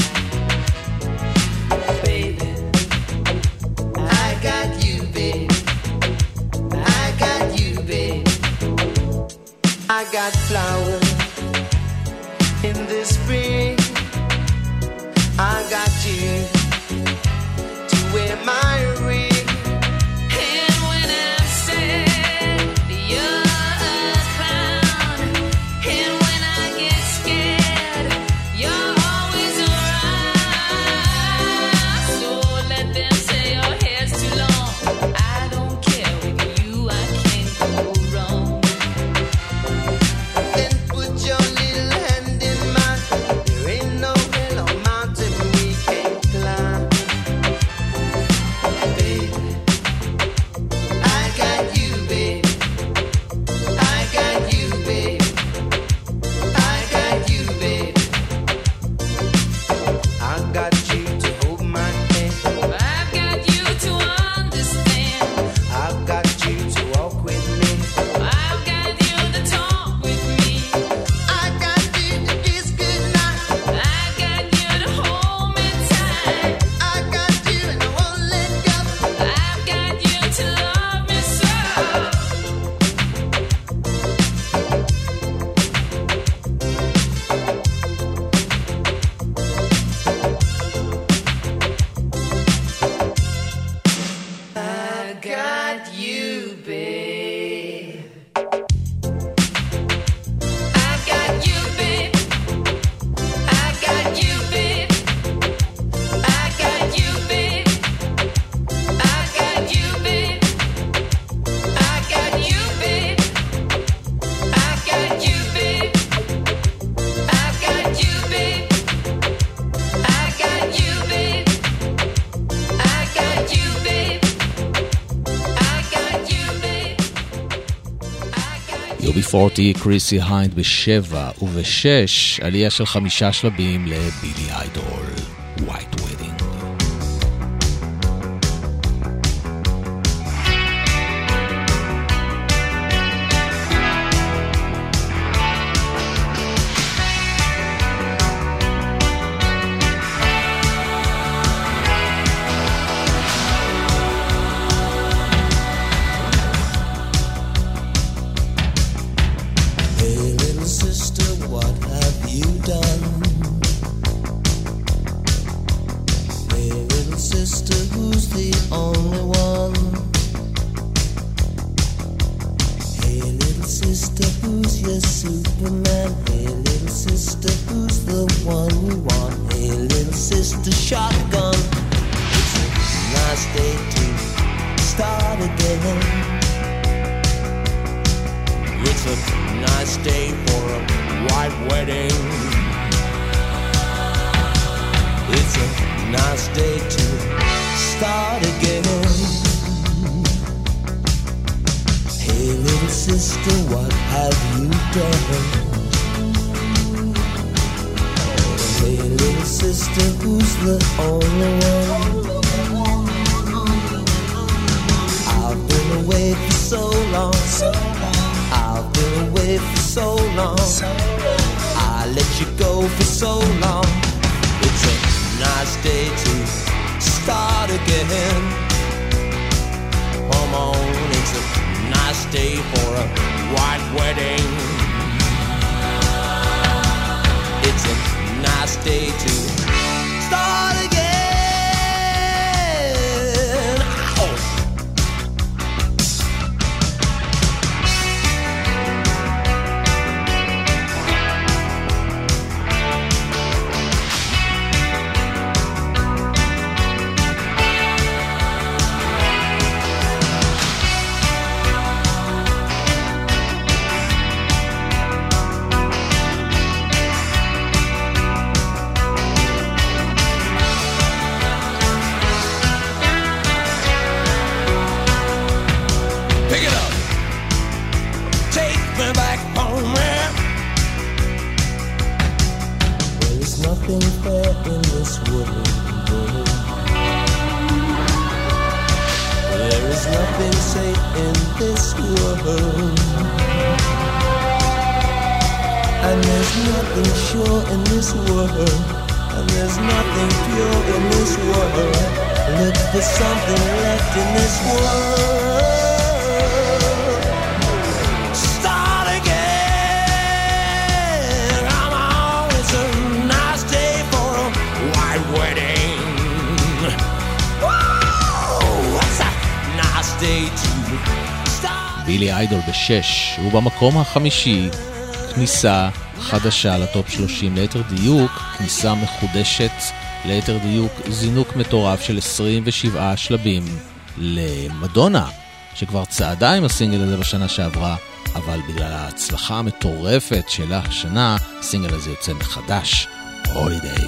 Baby, I got you, babe. I got you, babe. I got flowers in the spring. I got you to wear my ring. and when I'm sad, you're a clown, and when I get scared, you're always around. So let them say your hair's too long, I don't care, with you I can't go wrong. Then put your little hand in mine. There ain't no hill or mountain we can't climb. Baby, I got you, babe. I got you, babe. I got you, babe. I got you to hold my hand. I've got you to understand, I've got you to walk with me. I've got you to talk with me, I got you to kiss goodnight. I've got you to hold me tight, I got you and I won't let go. I've got you to love me so. I got you, babe. I got you, babe. I got you, babe. I got you, babe. I got you, babe. I got you, babe. I got you, babe. I got you, babe. I got you, babe. I got you, babe. I got you, babe. יובי 40, קריסי היינד ב7 וב6, עלייה של 5 שלבים לבילי איידול, White Wedding. Hey, little sister, what have you done? Hey, little sister, who's the only one? Hey, little sister, who's your Superman? Hey, little sister, who's the one you want? Hey, little sister, shotgun. It's a nice day to start again. It's a nice day for a white wedding. It's a nice day to start again. Hey, little sister, what have you done? Hey, little sister, who's the only one? I've been away for so long. I've been away for so long. I let you go for so long. It's a nice day to start again. Come on, it's a nice day for a white wedding. It's a nice day to start again. in this world. And there's nothing sure in this world. And there's nothing pure in this world. Look for something left in this world. Start again. Come on, it's a nice day for a white wedding. Whoa, it's a nice day to start. בילי איידול בשש, הוא במקום החמישי. כניסה חדשה לטופ 30, ליתר דיוק, כניסה מחודשת, ליתר דיוק, זינוק מטורף של 27 שלבים למדונה, שכבר צעדה עם הסינגל הזה בשנה שעברה, אבל בגלל ההצלחה המטורפת שלה השנה, הסינגל הזה יוצא מחדש, הולידיי.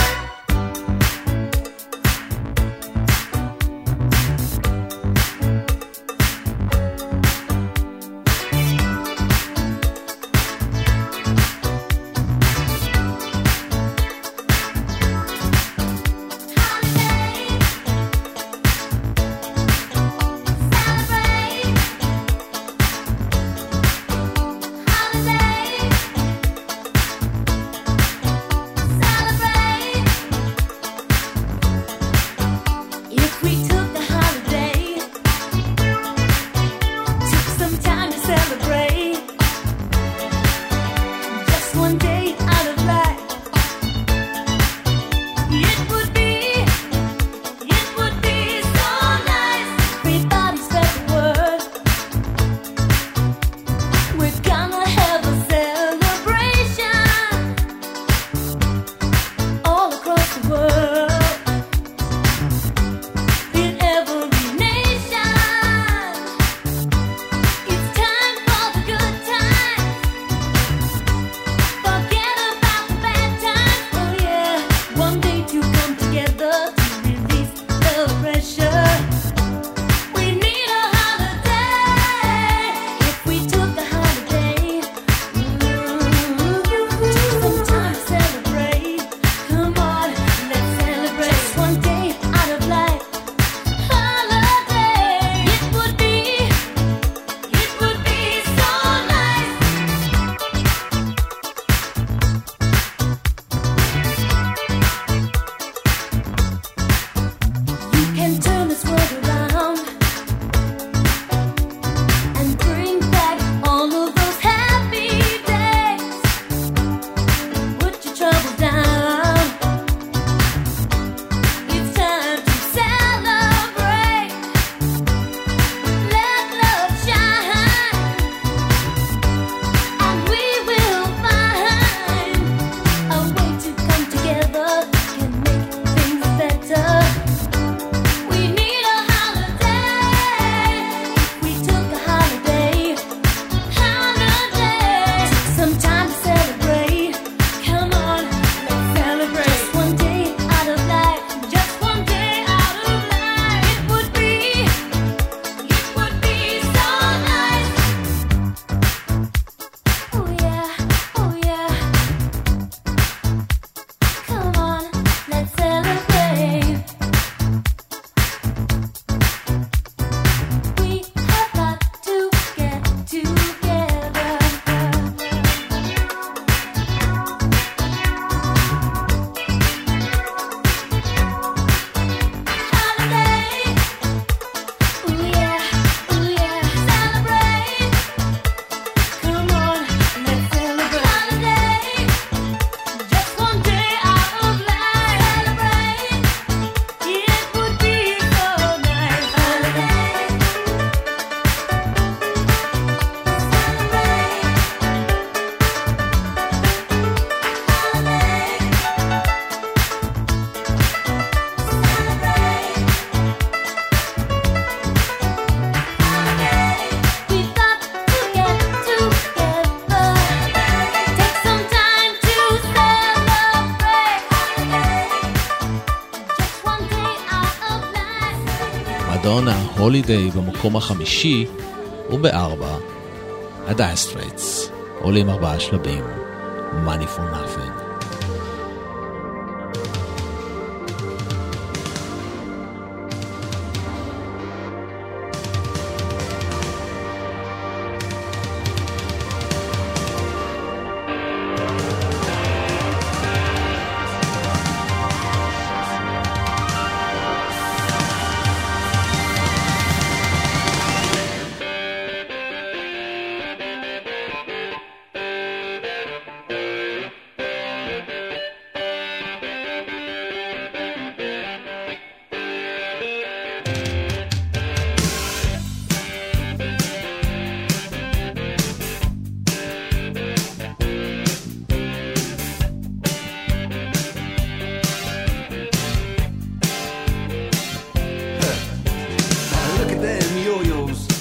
מדונה, הולידיי במקום החמישי, ובארבע, הדאיר סטרייטס, עולים 4 שלבים, Money for Nothing.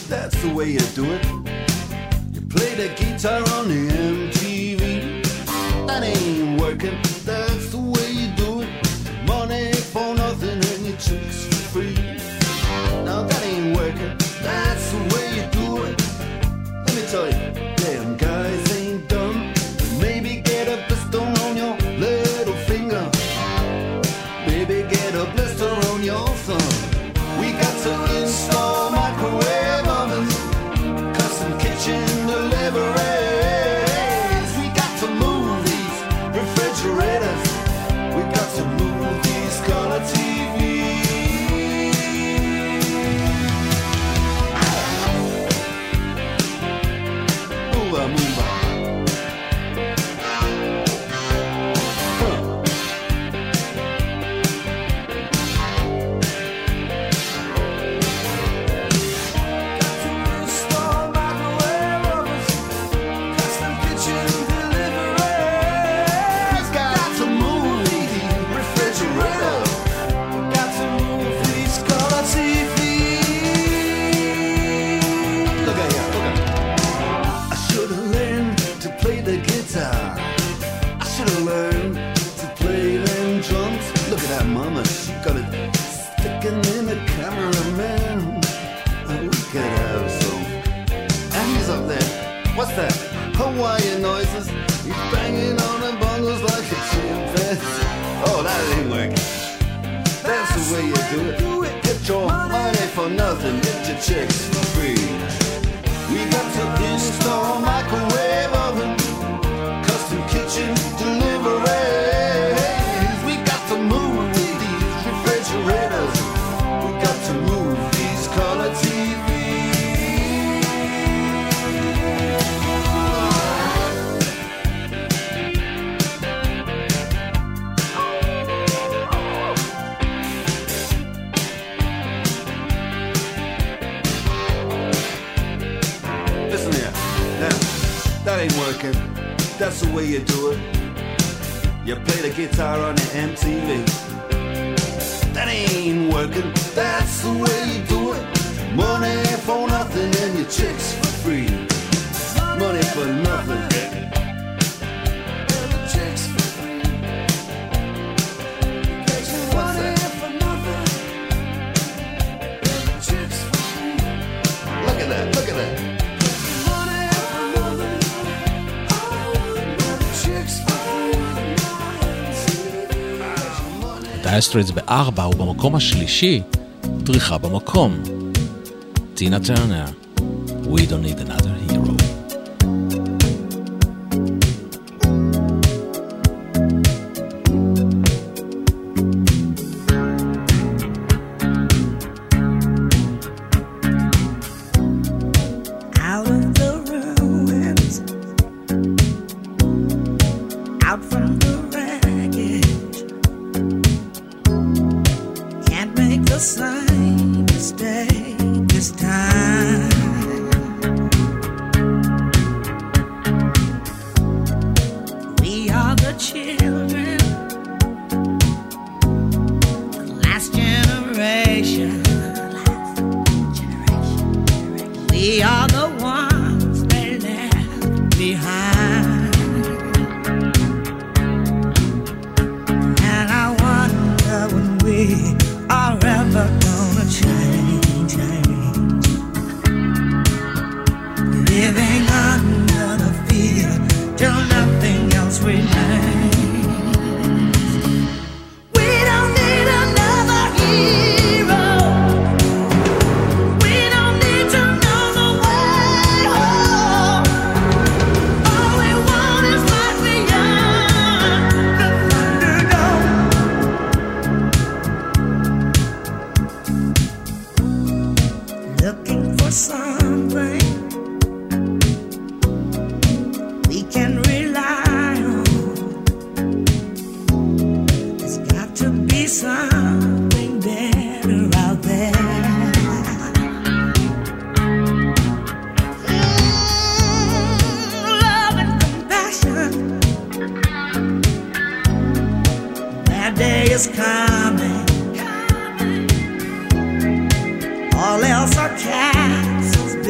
that's the way you do it. You play the guitar on the MTV. That ain't working, that's the way you do it. Money for nothing and your chicks for free. Now that ain't working, that's the way you do it. Let me tell you, damn guys ain't dumb. Maybe get a blister on your little finger. Maybe get a blister on your thumb. We got to install microwave ovens, custom kitchen deliveries. We got to move these refrigerators. We got to move these color TVs. Move on, move on. What's that? Hawaiian noises. He's banging on the bongos like a chimpanzee. Oh, that ain't working. That's the way you do it. Get your money for nothing. Get your chicks for free. We got to install microwave oven, custom kitchen deliveries. We got to move these refrigerators. We got to move these color TVs. That ain't working, that's the way you do it. You play the guitar on the MTV. That ain't working, that's the way you do it. Money for nothing and your chicks for free. Money for nothing. Look at that, look at that. דייר סטרייטס ב4 ובמקום השלישי, דריכה במקום. טינה טרנר, We Don't Need Another Hero. All else are castles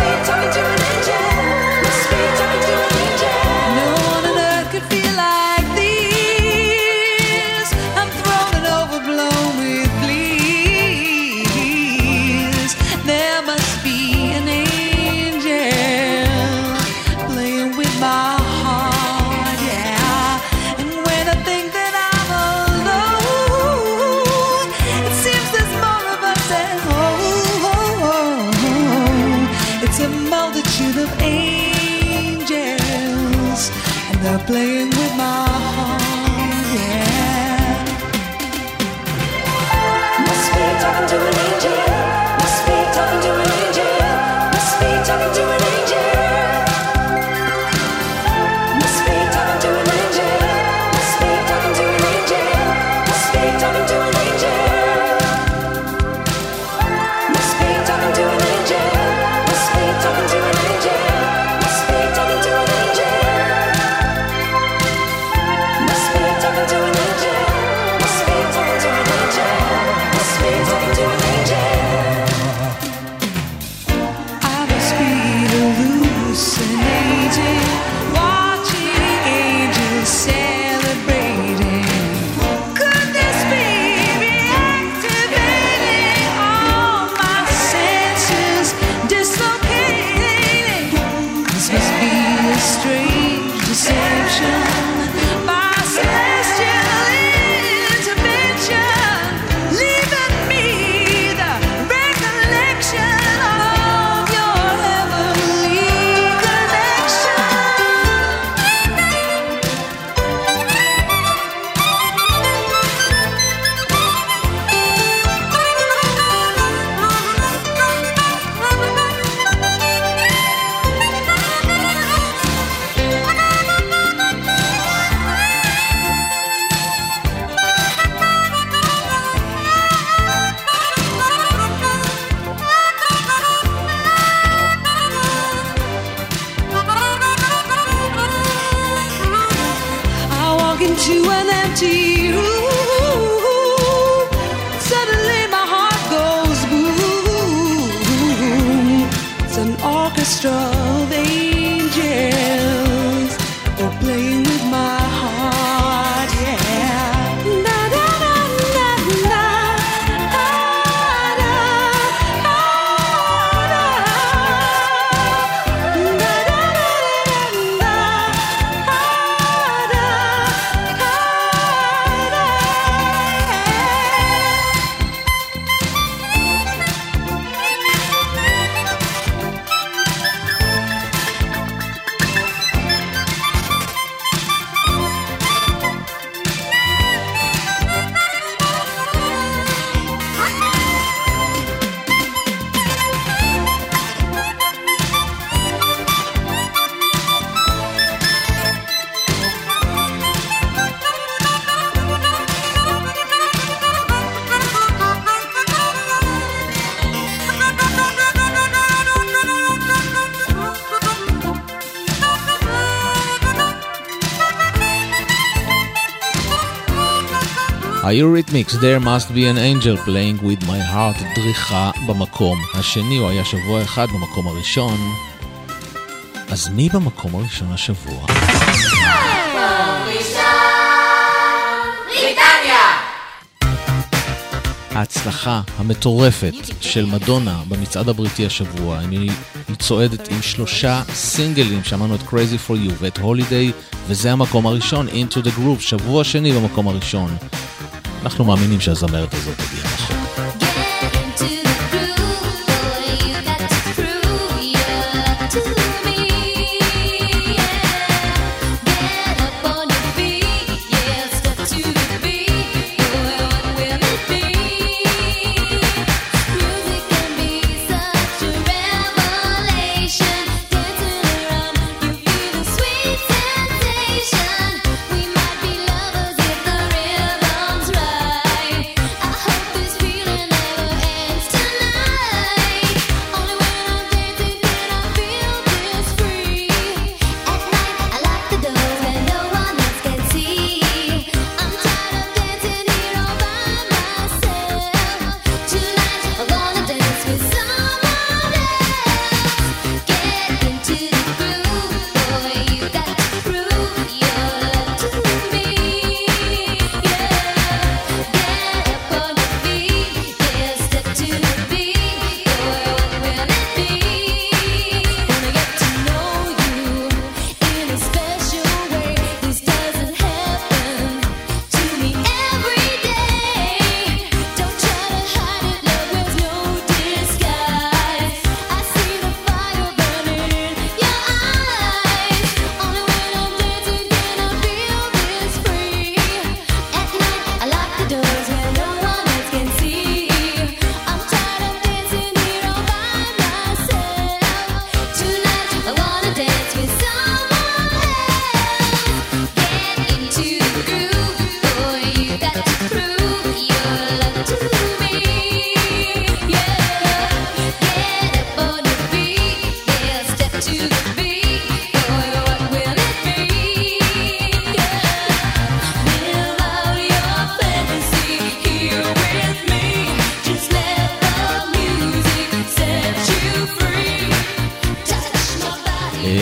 be talking to an angel. Must be talking to an angel. No one on earth could feel like this. I'm thrown and overblown with bliss. There must be an angel playing with my heart, yeah. And when I think that I'm alone, it seems there's more of us at home. It's a multitude of angels, and they're playing with my heart, yeah. Must be talking to an angel. Must be talking to an angel. Must be talking to an angel. Must be talking to an angel. Must be talking to an angel. Must be talking to an angel. Must be talking to an angel. Must be talking to an angel. Must be talking to an angel. Must be talking to an angel. Must be talking to an angel. Must be talking to an angel. I must be hallucinating, watching angels celebrating. Could this be reactivating all my senses, dislocating? This must be a strange deception by celestial intervention, leaving me the recollection of your heavenly connection. I walk into an empty room. Suddenly my heart goes boom. It's an orchestra of angels. They're playing with my heart, yeah. Na na na na na. Ah, da, ah, da. Na na na na na. היוריתמיקס, There must be an angel playing with my heart, דריכה במקום השני, הוא היה שבוע אחד במקום הראשון. אז מי במקום הראשון השבוע? ההצלחה המטורפת של מדונה במצעד הבריטי השבוע, היא צועדת עם 3 סינגלים, שמענו את Crazy for You ואת Holiday, וזה המקום הראשון, Into the Groove, שבוע שני במקום הראשון. אנחנו מאמינים שהזמרת הזאת תגיע רחוק. We might be lovers if the rhythm's right. I hope this feels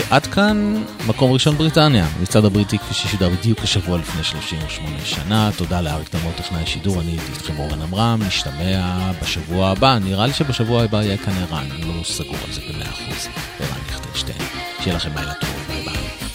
עד כאן מקום ראשון בריטניה, מצד הבריטי כפי ששודר בדיוק השבוע לפני 38 שנה. תודה לאריק תלמור טכנאי שידור, אני הייתי איתכם אורן עמרם, נשתמע בשבוע הבא. נראה לי שבשבוע הבא יהיה כאן ערן, אני לא סגור על זה ב100%. ערן ליכטנשטיין, שיהיה לכם לילה טוב, ביי ביי.